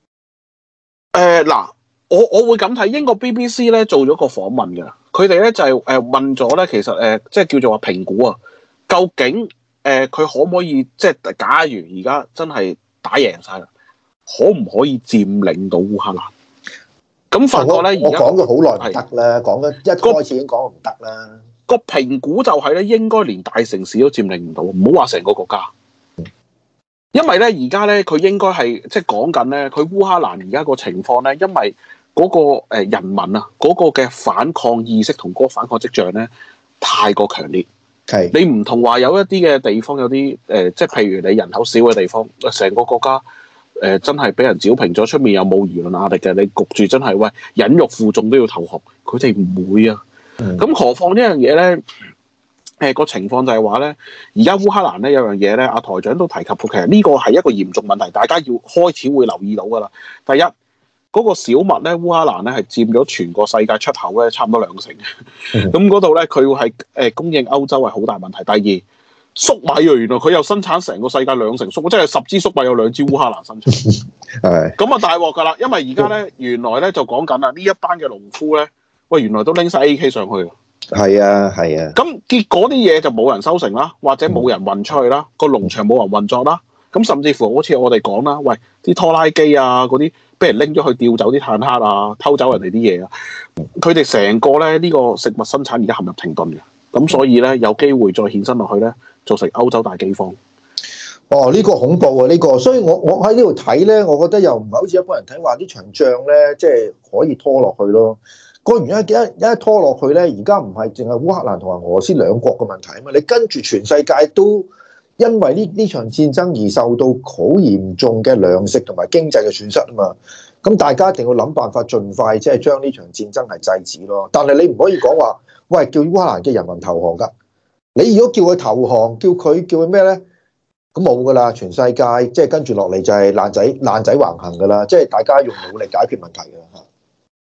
嗱，我會咁睇，英國 BBC 咧做咗個訪問嘅，佢哋咧就係問咗咧，其實即係叫做話評估啊，究竟佢可唔可以即係假如而家真係打贏晒啦？可唔可以佔領到烏克蘭？咁發覺咧， 我講咗好耐唔得啦，講咗一開始已經講唔得啦。 個評估就係咧，應該連大城市都佔領唔到，唔好話成個國家。因為咧，而家咧，佢應該係即係講緊咧，佢烏克蘭而家個情況咧，因為嗰個人民啊，嗰個嘅反抗意識同嗰個反抗跡象咧，太過強烈。 係你唔同話有一啲嘅地方有啲即係譬如你人口少嘅地方，成個國家。真係俾人剿平咗，出面又冇輿論壓力嘅，你焗住真係喂忍辱負重都要投降，佢哋唔會啊。咁何況呢樣嘢咧？個情況就係話咧，而家烏克蘭咧有樣嘢咧，阿台長都提及過，其實呢個係一個嚴重問題，大家要開始會留意到噶啦。第一，嗰個小麥咧，烏克蘭咧係佔咗全個世界出口咧差唔多2成，咁嗰度咧佢會係供應歐洲係好大問題。第二，粟米啊，原來佢又生產成個世界2成粟，即係10支粟米有2支烏克蘭生產。係咁啊，大鑊噶啦！因為而家咧，原來咧就講緊啦，呢一班嘅農夫咧，喂，原來都拎晒 AK 上去。 係啊，係啊。 咁結果啲嘢就冇人收成啦，或者冇人運出去啦，個農場冇人運作啦。咁甚至乎好似我哋講啦，喂，啲拖拉機啊嗰啲，俾人拎咗去調走啲坦克啊，偷走人哋啲嘢啊，佢哋成個咧呢個食物生產而家陷入停頓嘅。咁所以咧有機會再衍生落去咧，造成歐洲大饑荒。 哦，呢個恐怖啊！呢個，所以我喺呢度睇咧，我覺得又唔係好似一般人睇話呢場仗咧，即係可以拖落去咯。個原因一拖落去咧，而家唔係淨係烏克蘭同埋俄羅斯兩國嘅問題啊嘛，你跟住全世界都因為呢場戰爭而受到好嚴重嘅糧食同埋經濟嘅損失啊嘛。咁大家一定要諗辦法，盡快即係將呢場戰爭係制止咯。但係你唔可以講話，喂，叫烏克蘭嘅人民投降㗎。你如果叫佢投降，叫佢咩咧？咁冇噶啦，全世界即係跟住落嚟就係爛仔橫行噶啦，即係大家用武力解決問題噶啦嚇。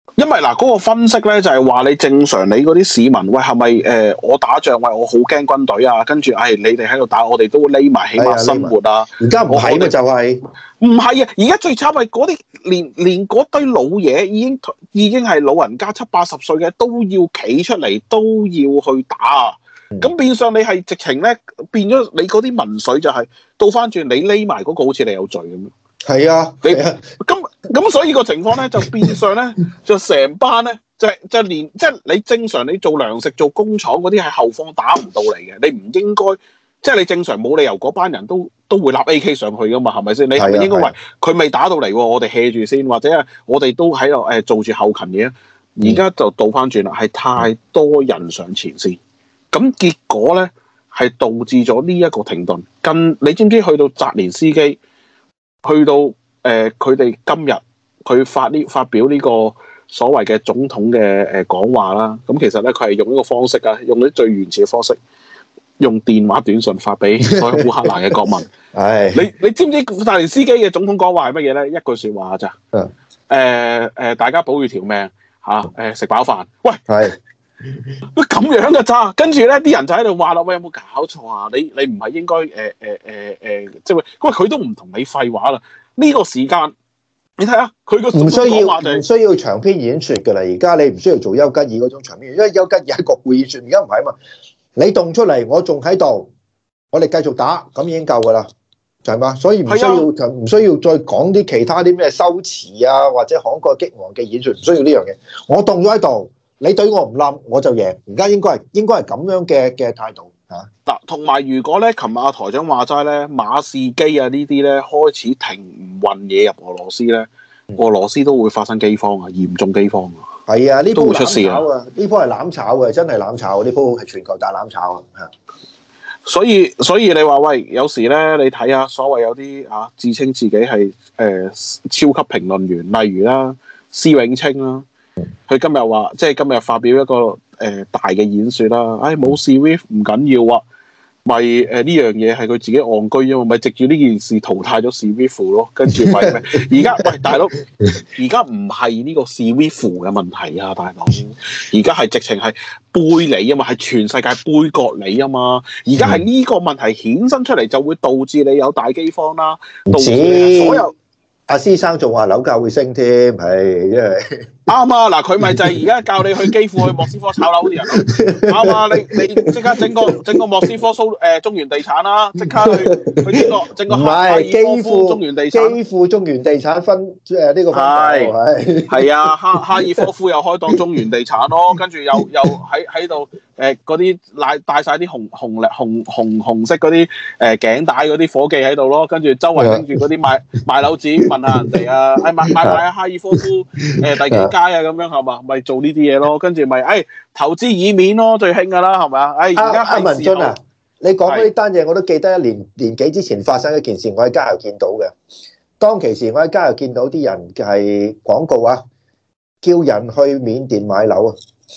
因為嗱嗰個分析咧就係話你正常你嗰啲市民喂係咪我打仗喂我好驚軍隊啊，跟住你哋喺度打我哋都匿埋起碼生活啊。 而家唔係嘅就係唔係啊！而家最慘係嗰啲連嗰堆老嘢已經係老人家70-80歲嘅都要企出嚟都要去打。咁變相你係直情咧變咗你嗰啲民粹就係倒翻轉你匿埋嗰個好似你有罪咁樣。 係啊， 咁所以個情況咧就變相咧就成班咧就連即係你正常你做糧食做工廠嗰啲係後方打唔到嚟嘅，你唔應該即係你正常冇理由嗰班人都會立 AK 上去噶嘛，係咪先？你係咪應該喂佢未打到嚟喎，我哋 hea 住先，或者係我哋都喺度做住後勤嘢。而家就倒翻轉啦，係太多人上前線，咁結果咧係導致咗呢一個停頓。你知唔知去到澤連斯基，去到佢哋今日佢發表呢個所謂嘅總統嘅講話啦，咁其實咧佢係用呢個方式啊，用啲最原始嘅方式，用電話短信發俾所有烏克蘭嘅國民。你知唔知澤連斯基嘅總統講話係乜嘢咧？一句説話咋？大家保住條命嚇，食飽飯。喂，咁樣嘅咋？跟住咧啲人就喺度話啦，喂，有冇搞錯啊？你唔係應該即係喂佢都唔同你廢話啦。呢個時間你睇下佢個唔需要長篇演説㗎啦。而家你唔需要做丘吉爾嗰種長篇，因為丘吉爾係國會演説，而家唔係啊嘛。你動出嚟，我仲喺度，我哋繼續打，咁已經夠㗎啦，就係嘛。所以唔需要再講啲其他啲咩修辭啊，或者慷慨激昂嘅演説，唔需要呢樣嘢。我動咗喺度。你對我唔冧，我就贏。而家應該係咁樣嘅態度嚇。 嗱，同埋如果咧，琴日阿台長話齋咧，馬士基啊呢啲咧開始停唔運嘢入俄羅斯咧，俄羅斯都會發生饑荒啊，嚴重饑荒啊。 係啊，呢波出事啊！ 呢波係攬炒嘅，真係攬炒。呢波係全球大攬炒啊！ 所以你話喂，有時咧你睇下所謂有啲自稱自己係超級評論員，例如啦，施永青啦。佢今日話，即係今日發表一個大嘅演説啦。冇事 ，Swift 唔緊要啊，咪呢樣嘢係佢自己戇居啊嘛，咪藉住呢件事淘汰咗 Swift 咯。跟住咪而家喂大佬，而家唔係呢個 Swift 嘅問題啊，大佬，而家係直情係背你啊嘛，係全世界杯葛你啊嘛。而家係呢個問題衍生出嚟，就會導致你有大饑荒啦，導致所有。 阿師生仲話樓價會升添，係因為啱啊！嗱，佢咪就係而家教你去基輔去莫斯科炒樓啲人咯，啱啊！你即刻整個莫斯科中原地產啦，即刻去整個哈爾科夫中原地產， 基輔中原地產分呢個分係啊，哈爾科夫又開檔中原地產咯，跟住又喺度嗰啲帶晒啲紅色嗰啲頸帶嗰啲伙計喺度咯，跟住周圍拎住嗰啲賣樓紙問下人哋啊，買哈爾科夫第幾街啊咁樣係嘛，咪做呢啲嘢咯，跟住咪投資以免咯，最興噶啦係咪啊？而家阿文進啊，你講嗰啲單嘢我都記得，年幾之前發生一件事，我喺街頭見到嘅。當其時我喺街頭見到啲人係廣告啊，叫人去緬甸買樓啊。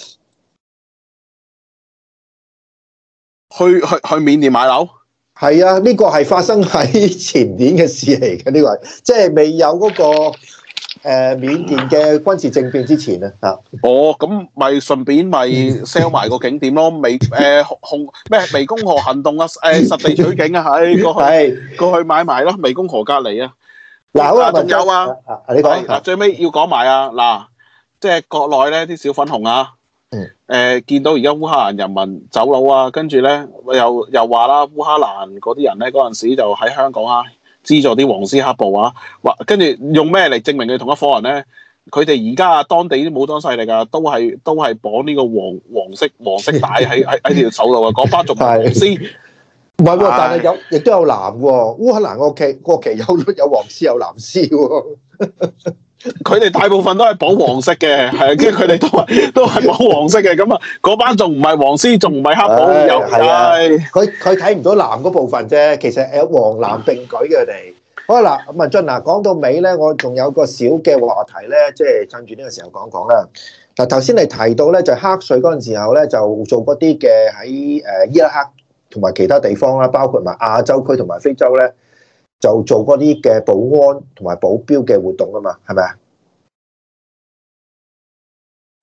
去緬甸買樓？ 係啊，呢個係發生喺前年嘅事嚟嘅，呢個係即係未有嗰個緬甸嘅軍事政變之前啊。 咁咪順便咪 sell 埋個景點咯，湄公河行動啊，實地取景啊，過去買埋咯，湄公河隔離啊。嗱，仲有啊， 你講嗱，最尾要講埋啊，嗱，即係國內咧啲小粉紅啊。見到而家烏克蘭人民走佬啊，跟住咧又話啦，烏克蘭嗰啲人咧嗰陣時就喺香港啊，資助啲黃絲黑暴啊，跟住用咩嚟證明佢同一夥人咧？佢哋而家當地啲武裝勢力啊，都係綁呢個黃色帶喺條手度啊，嗰班仲黃絲， 唔係喎，但係亦都有藍喎，烏克蘭國旗有黃絲有藍絲喎。 佢哋大部分都係綁黃色嘅，係，跟住佢哋都係綁黃色嘅，咁啊，嗰班仲唔係黃絲，仲唔係黑暴， 佢睇唔到藍嗰部分啫，其實有黃藍並舉嘅佢哋。好啦，嗱，文進嗱，講到尾咧，我仲有個小嘅話題咧，即係趁住呢個時候講講啦。嗱，頭先你提到咧，就黑稅嗰陣時候咧，就做嗰啲嘅喺伊拉克同埋其他地方啦，包括埋亞洲區同埋非洲咧。就做嗰啲嘅保安同埋保鏢嘅活動啊嘛，係咪啊？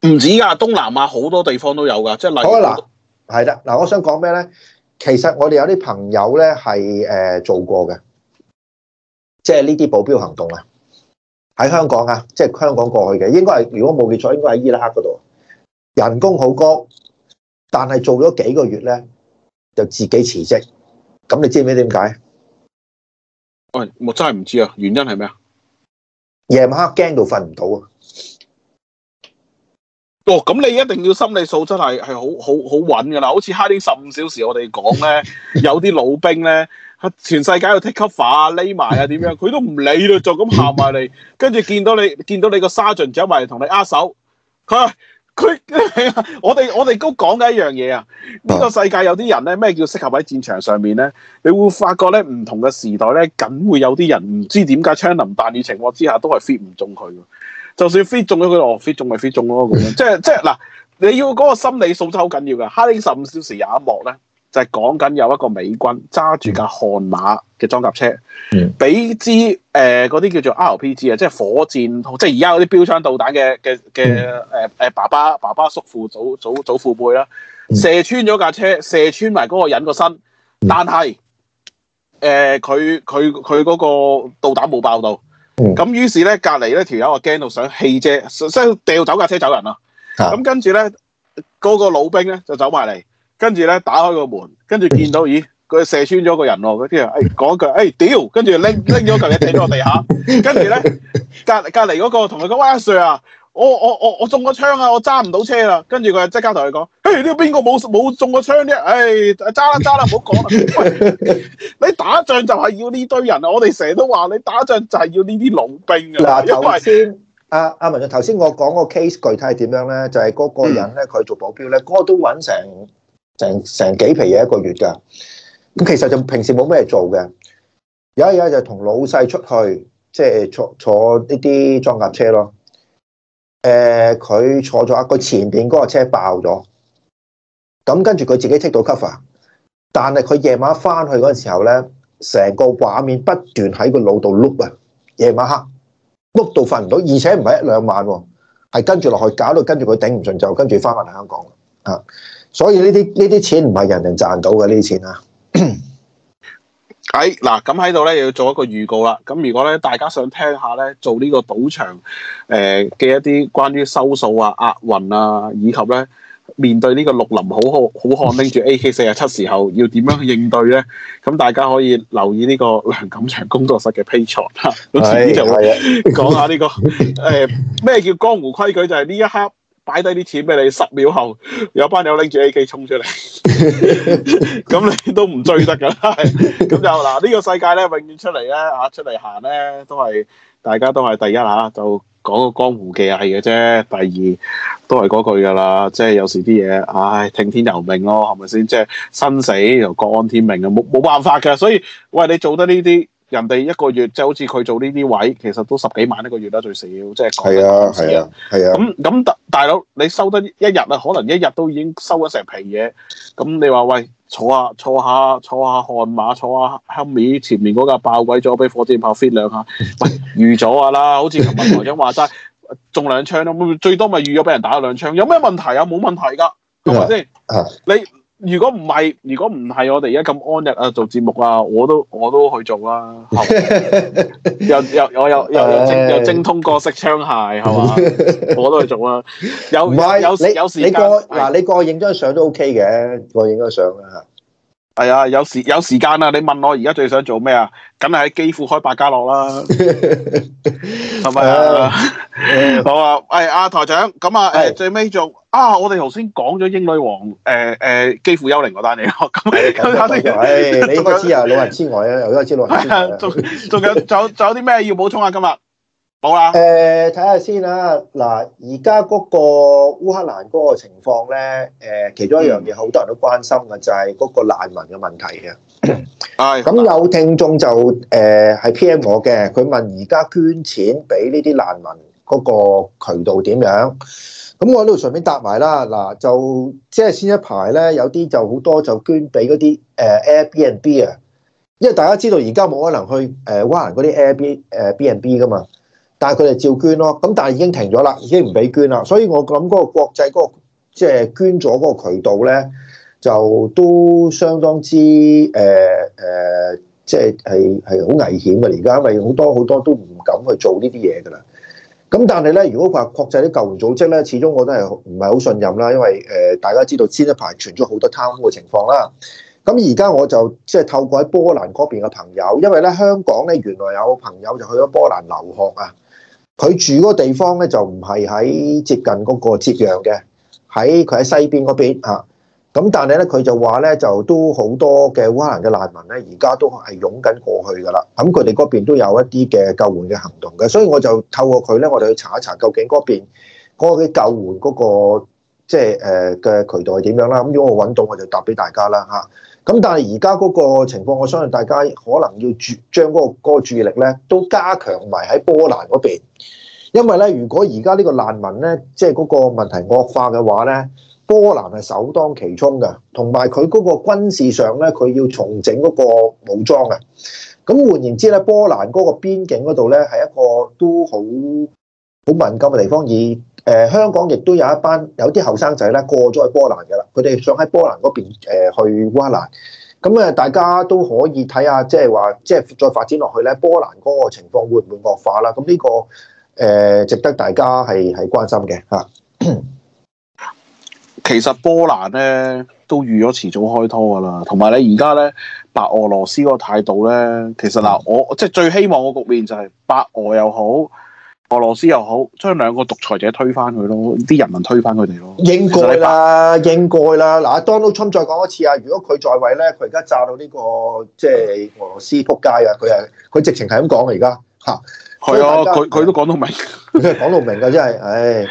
唔止㗎，東南亞好多地方都有㗎，即係例如嗱，係啦，嗱，我想講咩咧？其實我哋有啲朋友咧係做過嘅，即係呢啲保鏢行動啊，喺香港啊，即係香港過去嘅，應該係如果冇記錯，應該喺伊拉克嗰度，人工好高，但係做咗幾個月咧，就自己辭職。咁你知唔知點解？ 喂，我真係唔知啊，原因係咩啊？ 夜晚黑驚到瞓唔到啊！ 哦，咁你一定要心理素質係好穩㗎啦，好似哈丁15小時我哋講咧，有啲老兵咧，全世界要 take cover 啊，匿埋啊點樣，佢都唔理啦，就咁行埋嚟，跟住見到你個 sergeant 走埋嚟同你握手，我哋都講緊一樣嘢啊！呢個世界有啲人咧，咩叫適合喺戰場上面咧？你會發覺咧，唔同嘅時代咧，梗會有啲人唔知點解槍林彈雨情況之下都係 fit 唔中佢。就算 fit 中咗佢，fit 中咪 fit 中咯咁樣。即係嗱，你要嗰個心理素質好緊要㗎。哈丁15小時有一幕咧，就係講緊有一個美軍揸住架悍馬嘅裝甲車，俾支嗰啲叫做 RPG 啊，即係火箭，即係而家嗰啲標槍導彈嘅爸爸叔父祖父輩啦，射穿咗架車，射穿埋嗰個人個身，但係佢嗰個導彈冇爆到。咁於是咧，隔離咧條友啊驚到想棄車，即係掉走架車走人啦。咁跟住咧，嗰個老兵咧就走埋嚟，跟住咧打開個門，跟住見到咦，佢射穿咗個人喎。嗰啲人講一句屌，跟住拎咗嚿嘢掟咗落地下，跟住咧隔離嗰個同佢講，喂，阿 Sir 啊，我中個槍啊，我揸唔到車啦。跟住佢即刻同佢講，呢個邊個冇中過槍啫？揸啦，唔好講啦。喂，你打仗就係要呢堆人啊！我哋成日都話你打仗就係要呢啲老兵啊。 嗱，頭先阿文進頭先我講個 case 具體係點樣咧？就係嗰個人咧，佢做保鏢咧，嗰個都揾成幾皮嘢一個月㗎。咁其實就平時冇咩做嘅，有一日就同老細出去，即係坐呢啲裝甲車咯。佢坐咗佢前邊嗰個車爆咗，咁跟住佢自己 take 到 cover，但係佢夜晚翻去嗰陣時候咧，成個畫面不斷喺個腦度碌啊！夜晚黑碌到瞓唔到，而且唔係1-2晚喎，係跟住落去，搞到跟住佢頂唔順就跟住翻返嚟香港啊！所以呢啲錢唔係人人賺到嘅，呢啲錢啊！ 嗱，咁喺度咧又要做一個預告啦。咁如果咧大家想聽下咧做呢個賭場嘅一啲關於收數啊、押運啊，以及咧面對呢個綠林好漢拎住 AK-47時候要點樣去應對咧，咁大家可以留意呢個梁錦祥工作室嘅 Patreon 嚇。咁遲啲就會講下呢個咩叫江湖規矩，就係呢一刻擺低啲錢俾你，10秒後有班友拎住 AK 衝出嚟，咁你都唔追得㗎啦。咁就嗱，呢個世界咧，永遠出嚟咧出嚟行咧，大家都係第一就講個江湖技藝嘅啫。第二都係嗰句㗎啦，即係有時啲嘢，聽天由命咯，係咪先？即係生死又各安天命啊，冇辦法㗎。所以喂，你做得呢啲。人哋一個月即係好似佢做呢啲位，其實都10幾萬一個月啦，最少即係講緊係啊。咁大佬你收得一日啊，可能一日都已經收咗成皮嘢。咁你話喂，坐下悍馬，坐下Humvee前面嗰架爆鬼咗，俾火箭炮 fit 兩下，喂預咗㗎啦。好似琴日台長話齋，中2槍咯，最多咪預咗俾人打2槍，有咩問題啊？冇問題㗎，係咪先？你如果唔係我哋而家咁安逸啊，做節目啊，我都去做啦，又精通過式槍械係嘛，我都去做啦。有時間嗱， 你過去影張相都 OK 嘅，過去影張相啊。 係啊，有時間啊！你問我而家最想做咩啊？梗係喺機庫開百家樂啦，係咪啊？好啊！阿台長咁啊，最尾做我哋頭先講咗英女王機庫幽靈嗰單嘢咯。咁你應該知啊，老人痴呆啊，又應該知老人痴呆。 仲有啲咩要補充啊？今日冇啦。 睇下先啦。嗱，而家嗰個烏克蘭嗰個情況咧，其中一樣嘢好多人都關心嘅就係嗰個難民嘅問題嘅。咁有聽眾就係 PM 我嘅，佢問而家捐錢俾呢啲難民嗰個渠道點樣？咁我喺度順便答埋啦。嗱，就即係先一排咧，有啲就好多就捐俾嗰啲Airbnb 啊，因為大家知道而家冇可能去烏克蘭嗰啲Airbnb 噶嘛。 但係佢哋照捐咯。咁但係已經停咗啦，已經唔俾捐啦。所以我諗嗰個國際嗰個即係捐咗嗰個渠道咧，就都相當之即係好危險嘅。而家因為好多都唔敢去做呢啲嘢㗎啦。咁但係咧，如果話國際啲救援組織咧，始終我都係唔係好信任啦，因為大家知道前一排傳咗好多貪污嘅情況啦。咁而家我就即係透過喺波蘭嗰邊嘅朋友，因為咧香港咧原來有朋友就去咗波蘭留學啊，佢住嗰個地方咧就唔係喺接近嗰個接壤嘅，佢喺西邊嗰邊啊。咁但係咧，佢就話咧，就都好多嘅烏克蘭嘅難民咧，而家都係湧緊過去噶啦。咁佢哋嗰邊都有一啲嘅救援嘅行動嘅，所以我就透過佢咧，我哋去查一查究竟嗰邊嗰個嘅救援嗰個即係嘅渠道係點樣啦。咁如果我揾到，我就答俾大家啦嚇。咁但係而家嗰個情況，我相信大家可能要將嗰個注意力咧，都加強埋喺波蘭嗰邊，因為咧，如果而家呢個難民咧，即係嗰個問題惡化嘅話咧，波蘭係首當其衝嘅，同埋佢嗰個軍事上咧，佢要重整嗰個武裝嘅。咁換言之咧，波蘭嗰個邊境嗰度咧，係一個都好敏感嘅地方。而香港亦都有啲後生仔咧過咗去波蘭嘅啦，佢哋想喺波蘭嗰邊去烏克蘭。咁大家都可以睇下，即係話即係再發展落去咧，波蘭嗰個情況會唔會惡化啦？咁呢個值得大家係關心嘅嚇。 其實波蘭咧都預咗遲早開拖噶啦，同埋你而家咧白俄羅斯嗰個態度咧，其實嗱，我即係最希望個局面就係白俄又好，俄羅斯又好，將兩個獨裁者推翻佢咯，啲人民推翻佢哋咯。應該啦，應該啦。嗱，Donald Trump再講一次啊，如果佢在位咧，佢而家炸到呢個即係俄羅斯撲街啊！佢直情係咁講啊，而家嚇。係啊， 佢都講到明， 佢講到明㗎，真係，唉。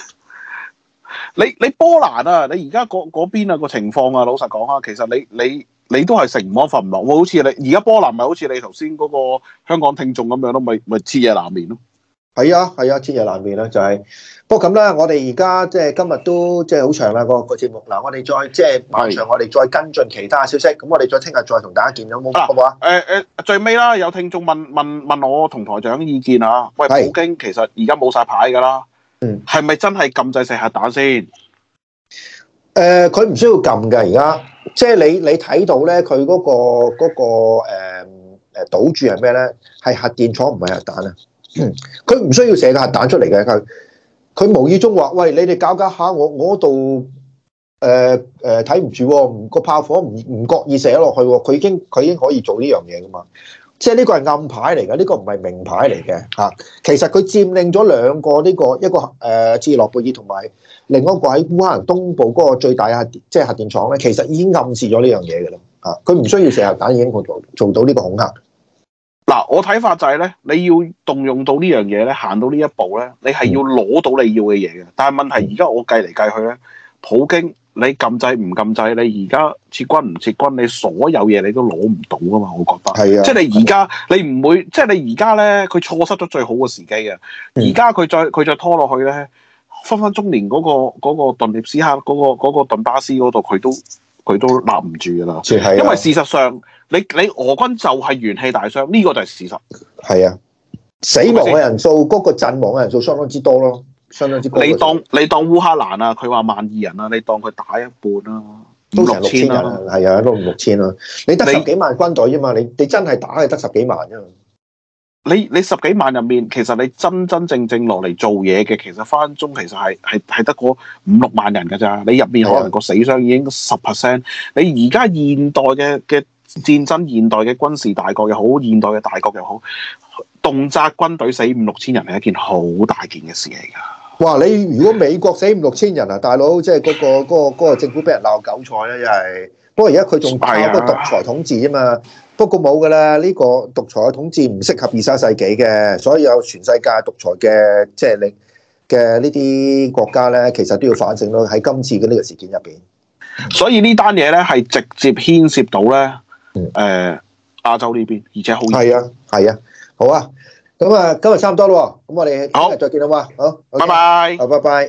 你波蘭啊，你而家嗰邊啊個情況啊，老實講啊，其實你都係食唔安瞓唔落喎，好似你而家波蘭咪好似你頭先嗰個香港聽眾咁樣咯，咪徹夜難眠咯。 係啊，徹夜難眠啦，就係。不過咁啦，我哋而家即係今日都即係好長啦個節目。嗱，我哋再即係晚上我哋再跟進其他消息，咁我哋再聽日再同大家見到好唔好啊？ 最尾啦，有聽眾問我同台長意見啊。喂，普京其實而家冇晒牌㗎啦。係咪真係禁制射核彈先？ 佢唔需要撳㗎，而家即係你睇到咧，佢嗰個賭注係咩咧？係核電廠唔係核彈啊！佢唔需要射個核彈出嚟嘅，佢無意中話：喂，你哋搞下我度睇唔住喎，個炮火唔覺意射咗落去喎，佢已經可以做呢樣嘢㗎嘛。即係呢個係暗牌嚟嘅，呢個唔係明牌嚟嘅嚇。其實佢佔領咗兩個一個切爾諾貝爾同埋另一個喺烏克蘭東部嗰個最大嘅即係核電廠咧，其實已經暗示咗呢樣嘢嘅啦嚇。佢唔需要射核彈已經做到呢個恐嚇。 嗱，我睇法就係咧，你要動用到呢樣嘢咧，行到呢一步咧，你係要攞到你要嘅嘢嘅。但係問題而家我計嚟計去咧，普京。你禁制唔禁制？你而家撤軍唔撤軍？你所有嘢你都攞唔到噶嘛？我覺得係啊，即係你而家你唔會，即係你而家咧，佢錯失咗最好嘅時機啊！而家佢再拖落去咧，分分鐘連嗰個頓涅斯克嗰個頓巴斯嗰度，佢都立唔住噶啦。因為事實上，你俄軍就係元氣大傷，呢個就係事實。係啊， 死亡嘅人數嗰個陣亡嘅人數相當之多咯。 你當烏克蘭啊，佢話12000人啊，你當佢打一半啦， 都成6000人，係啊，都5000啦。你得10幾萬軍隊啫嘛，你真係打係得10幾萬啫嘛。 你10幾萬入面，其實你真正落嚟做嘢嘅，其實翻中其實係得嗰5-6萬人㗎咋。你入面可能個死傷已經10%。你而家現代嘅戰爭，現代嘅軍事大國又好，現代嘅大國又好，動輒軍隊死5-6千人係一件好大件嘅事嚟㗎。 哇！你如果美國死5-6千人啊，大佬即係嗰個政府俾人鬧韭菜咧，又係。不過而家佢仲靠個獨裁統治啫嘛。不過冇㗎啦，呢個獨裁嘅統治唔適合21世紀嘅，所以有全世界獨裁嘅即係嘅呢啲國家咧，其實都要反省咯。喺今次嘅呢個事件入邊， 所以呢單嘢咧係直接牽涉到咧亞洲呢邊，而且好係啊，好啊。咁啊，今日差唔多咯，咁我哋聽日再見啦嘛，好， 拜拜， 好，拜拜。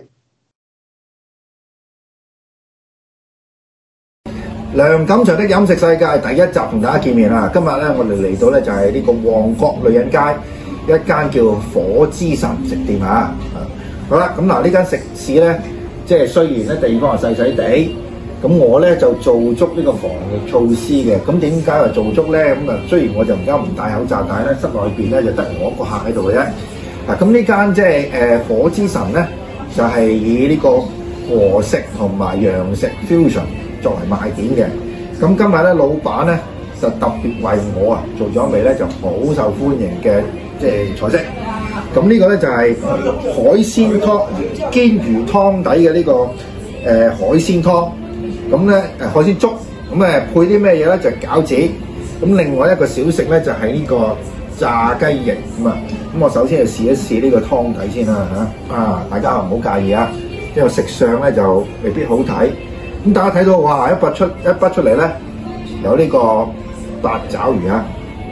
梁錦祥的飲食世界第一集同大家見面啦，今日咧我哋嚟到咧就係呢個旺角女人街一間叫火之神食店啊。好啦，咁嗱呢間食肆咧，即係雖然咧地方係細細地，咁我咧就做足呢個防疫措施嘅。咁點解話做足咧？咁啊，雖然我就而家唔戴口罩，但係咧室內邊咧就得我一個客喺度嘅啫。嗱，咁呢間即係火之神咧，就係以呢個和食同埋洋食 fusion 作為賣點嘅。咁今日咧，老闆咧就特別為我啊做咗一味咧就好受歡迎嘅即係菜式。咁呢個咧就係海鮮湯煎魚湯底嘅呢個海鮮湯。咁咧海鮮粥，咁配啲咩嘢咧？就係餃子。咁另外一個小食咧就係呢個炸雞翼咁啊。咁我首先就試一試呢個湯底先啦嚇。啊，大家唔好介意啊，因為食相咧就未必好睇。咁大家睇到哇，一筆出嚟咧，有呢個八爪魚啊，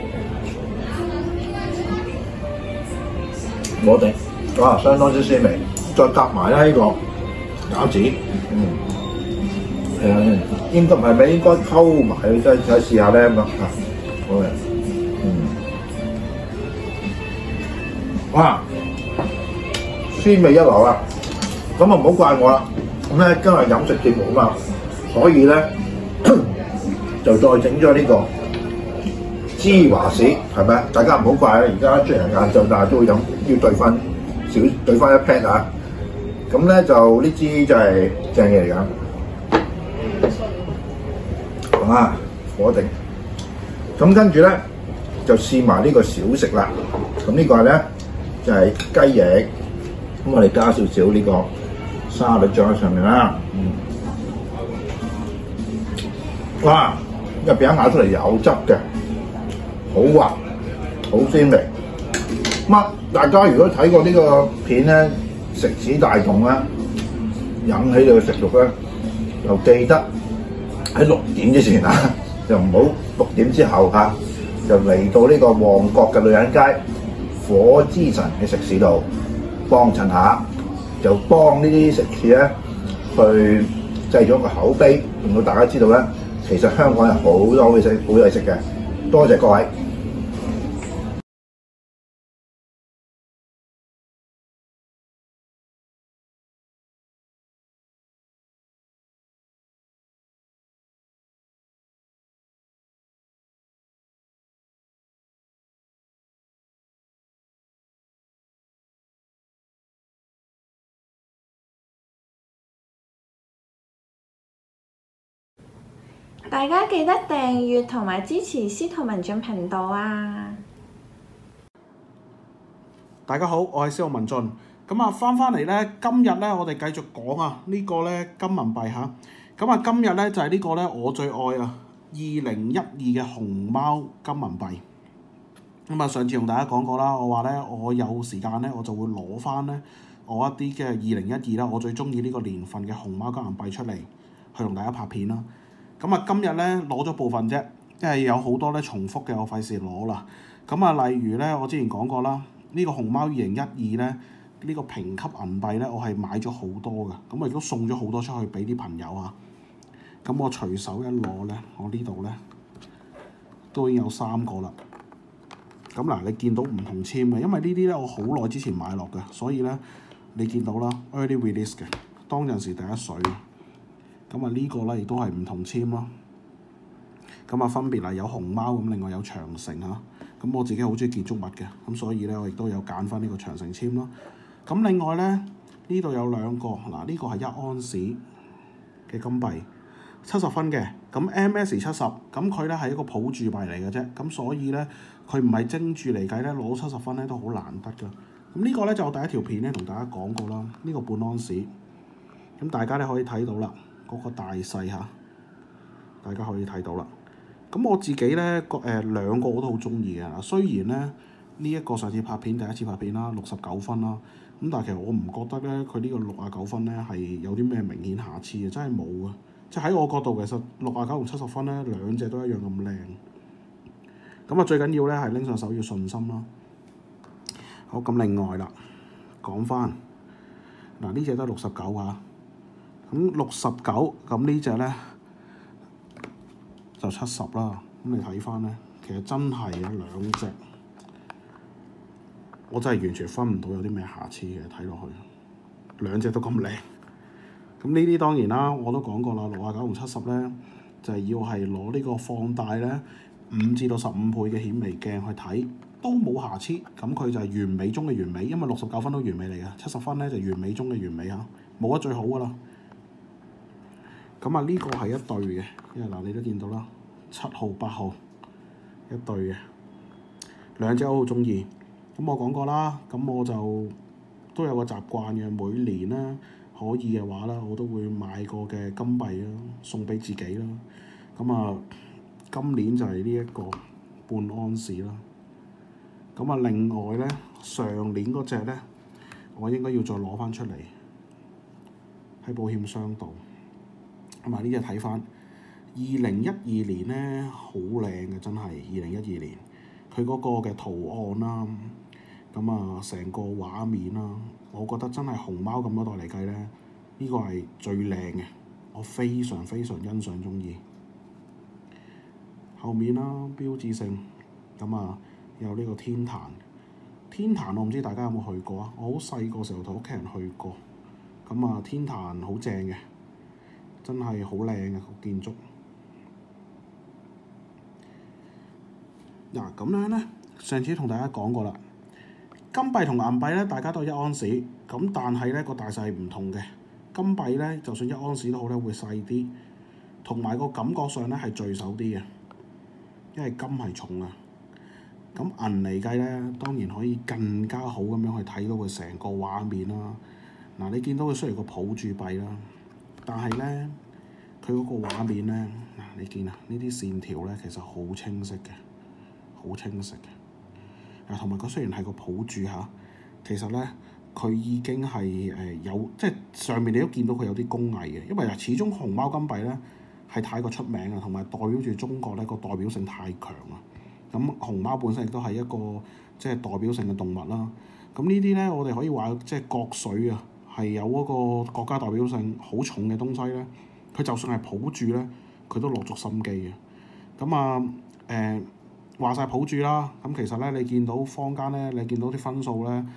我哋哇相當之鮮味，再夾埋咧呢個餃子，應該唔係咪應該溝埋，再試下咧咁啊，好嘅，哇，鮮味一流啊！咁啊唔好怪我啦。咁咧今日飲食節目啊嘛，所以咧就再整咗呢個芝華士，係咪？大家唔好怪啊！而家雖然晏晝，但係都會飲，要兌翻一 pat 啊！咁咧就呢支就係正嘢嚟㗎，啊火定。咁跟住咧就試埋呢個小食啦。咁呢個咧就係雞翼，咁我哋加少少呢個沙律醬喺上面啦，哇！入邊一咬出嚟有汁嘅，好滑，好鮮味。大家如果睇過呢個片咧，食指大動啦，引起你嘅食慾咧，就記得喺6點之前啊，就唔好6點之後嚇，就嚟到呢個旺角嘅女人街火之神嘅食肆度幫襯下。就幫呢啲食肆咧，去製咗個口碑，令到大家知道咧，其實香港有好多好嘢食嘅。多謝各位。 大家記得訂閱同埋支持司徒文進頻道啊！ 大家好，我係司徒文進。咁啊，翻嚟咧，今日咧，我哋繼續講啊，呢個咧金銀幣嚇。咁啊，今日咧就係呢個咧我最愛啊，2012嘅熊貓金銀幣。咁啊，上次同大家講過啦，我話咧我有時間咧，我就會攞翻咧我一啲嘅2012啦，我最中意呢個年份嘅熊貓金銀幣出嚟，去同大家拍片啦。咁啊，今日咧攞咗部分啫，因為有好多咧重複嘅，我費事攞啦。咁啊，例如咧，我之前講過啦，呢個熊貓2012咧，呢個評級銀幣咧，我係買咗好多嘅，咁我亦都送咗好多出去俾啲朋友啊。咁我隨手一攞咧，我呢度咧都已經有3個啦。咁嗱，你見到唔同簽嘅，因為呢啲咧我好耐之前買落嘅，所以咧你見到啦 early release 嘅，當陣時第一水。咁啊呢個咧亦都係唔同簽咯。咁啊分別係有熊貓咁，另外有長城嚇。咁我自己好中意建築物嘅，咁所以咧我亦都有揀翻呢個長城簽咯。咁另外咧呢度有2個，嗱呢個係1安士嘅金幣，70分嘅。咁 MS70，咁佢咧係一個普鑄幣嚟嘅啫。咁所以咧佢唔係精鑄嚟計咧，攞70分咧都好難得㗎。咁呢個咧就我第一條片咧同大家講過啦。呢個半安士，咁大家咧可以睇到啦。嗰個大細嚇，大家可以睇到啦。咁我自己咧2個我都好中意嘅。雖然咧呢一個上次拍片第一次拍片啦，69分啦。咁但係其實我唔覺得咧佢呢個69分咧係有啲咩明顯瑕疵嘅，真係冇嘅。即係喺我角度其實69同70分咧2隻都一樣咁靚。咁啊最緊要咧係拎上手要信心啦。好，咁另外啦，講翻嗱呢隻都係69嚇。咁69，咁呢隻咧就70啦。咁你睇翻咧，其實真係有2隻我真係完全分唔到有啲咩瑕疵嘅，睇落去兩隻都咁靚。咁呢啲當然啦，我都講過啦，69同70咧就係要係攞呢個放大咧5至到15倍嘅顯微鏡去睇，都冇瑕疵。咁佢就係完美中嘅完美，因為69分都完美嚟嘅，70分咧就完美中嘅完美嚇，冇得最好噶啦。咁啊呢個係一對嘅，因為嗱你都見到啦，7號8號一對嘅，兩隻我好中意。咁我講過啦，咁我就都有個習慣嘅，每年咧可以嘅話啦，我都會買個嘅金幣啦，送俾自己啦。咁啊，今年就係呢一個半安士啦。咁啊，另外咧，上年嗰隻咧，我應該要再攞翻出嚟喺保險箱度。咁啊，呢隻睇翻2012年咧，好靚嘅真係2012年，佢嗰個嘅圖案啦，咁啊成個畫面啦，我覺得真係熊貓咁多代嚟計咧，呢個係最靚嘅，我非常非常欣賞中意。後面啦，標誌性咁啊，有呢個天壇。天壇我唔知大家有冇去過啊？我好細個時候同屋企人去過。咁啊，天壇好正嘅，真係好靚嘅個建築。嗱咁樣咧，上次同大家講過啦，金幣同銀幣咧，大家都係1盎司，咁但係咧個大細唔同嘅。金幣咧，就算1盎司都好咧，會細啲，同埋個感覺上咧係聚手啲嘅，因為金係重啊。咁銀嚟計咧，當然可以更加好咁樣去睇到佢成個畫面啦。嗱，你見到佢雖然個抱住幣啦，但係咧佢嗰個畫面咧，嗱你見啊，呢啲線條咧其實好清晰嘅，好清晰嘅。同埋佢雖然係個抱住嚇，其實咧佢已經係有即係上面你都見到佢有啲工藝嘅，因為始終熊貓金幣咧係太過出名啊，同埋代表住中國咧個代表性太強啊。咁熊貓本身亦都係一個即係代表性嘅動物啦。咁呢啲咧，我哋可以話即係國粹啊，係有嗰個國家代表性好重嘅東西咧。佢就算係抱住咧，佢都落足心機嘅。咁啊話晒抱住啦。咁其實咧，你見到坊間咧，你見到啲分數咧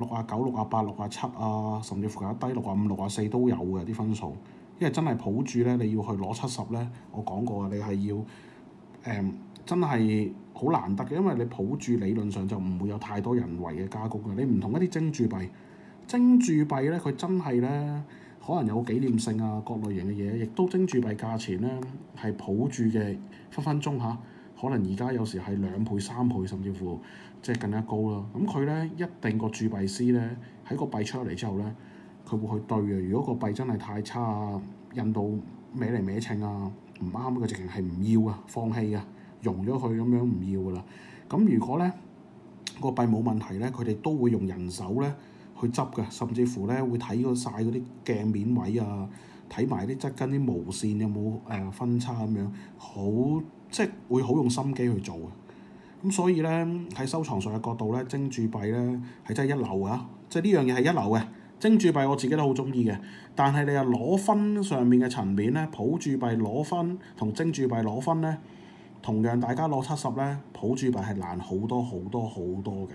，69、68、67啊，甚至乎有低65、64都有嘅啲分數。因為真係抱住咧，你要去攞70咧，我講過啊，你係要真係好難得嘅，因為你抱住理論上就唔會有太多人為嘅加工嘅。你唔同一啲精鑄幣，精鑄幣咧佢真係咧可能有紀念性啊，各類型嘅嘢，亦都精鑄幣價錢咧係抱住嘅分分鐘嚇，可能而家有時係2倍、3倍，甚至乎即係更加高啦。咁佢咧一定個鑄幣師咧喺個幣出嚟之後咧，佢會去對嘅。如果個幣真係太差啊，印到歪嚟歪稱啊，唔啱，佢直情係唔要啊，放棄啊。溶咗佢咁樣唔要噶啦。咁如果咧個幣冇問題咧，佢哋都會用人手咧去執嘅，甚至乎咧會睇過晒嗰啲鏡面位啊，睇埋啲側跟啲毛線有冇分叉咁樣，好即係會好用心機去做嘅。咁所以咧喺收藏上嘅角度咧，精鑄幣咧係真係一流啊！即係呢樣嘢係一流嘅。精鑄幣我自己都好中意嘅，但係你又攞分上面嘅層面咧，抱鑄幣攞分同精鑄幣攞分咧。同樣大家攞70咧，抱鑄幣係難好多好多好多嘅。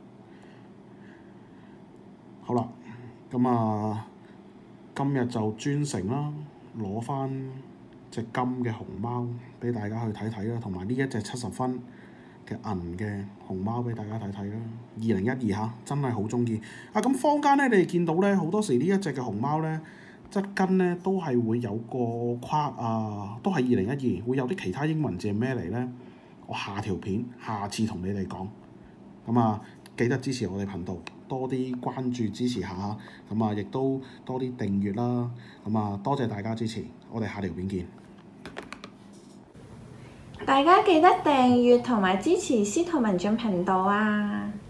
好啦，咁啊，今日就專程啦，攞翻隻金嘅熊貓俾大家去睇睇啦，同埋呢一隻70分嘅銀嘅熊貓俾大家睇睇啦。2012嚇，真係好中意啊！咁坊間咧，你哋見到咧，好多時呢一隻嘅熊貓咧，側跟咧都係會有個框啊，都係2012，會有啲其他英文字係咩嚟咧？我下條片下次同你哋講。咁啊，記得支持我哋頻道，多啲關注支持下。咁啊，亦都多啲訂閱啦。咁啊，多謝大家支持，我哋下條片見。 大家記得訂閱同埋支持司徒文進頻道啊！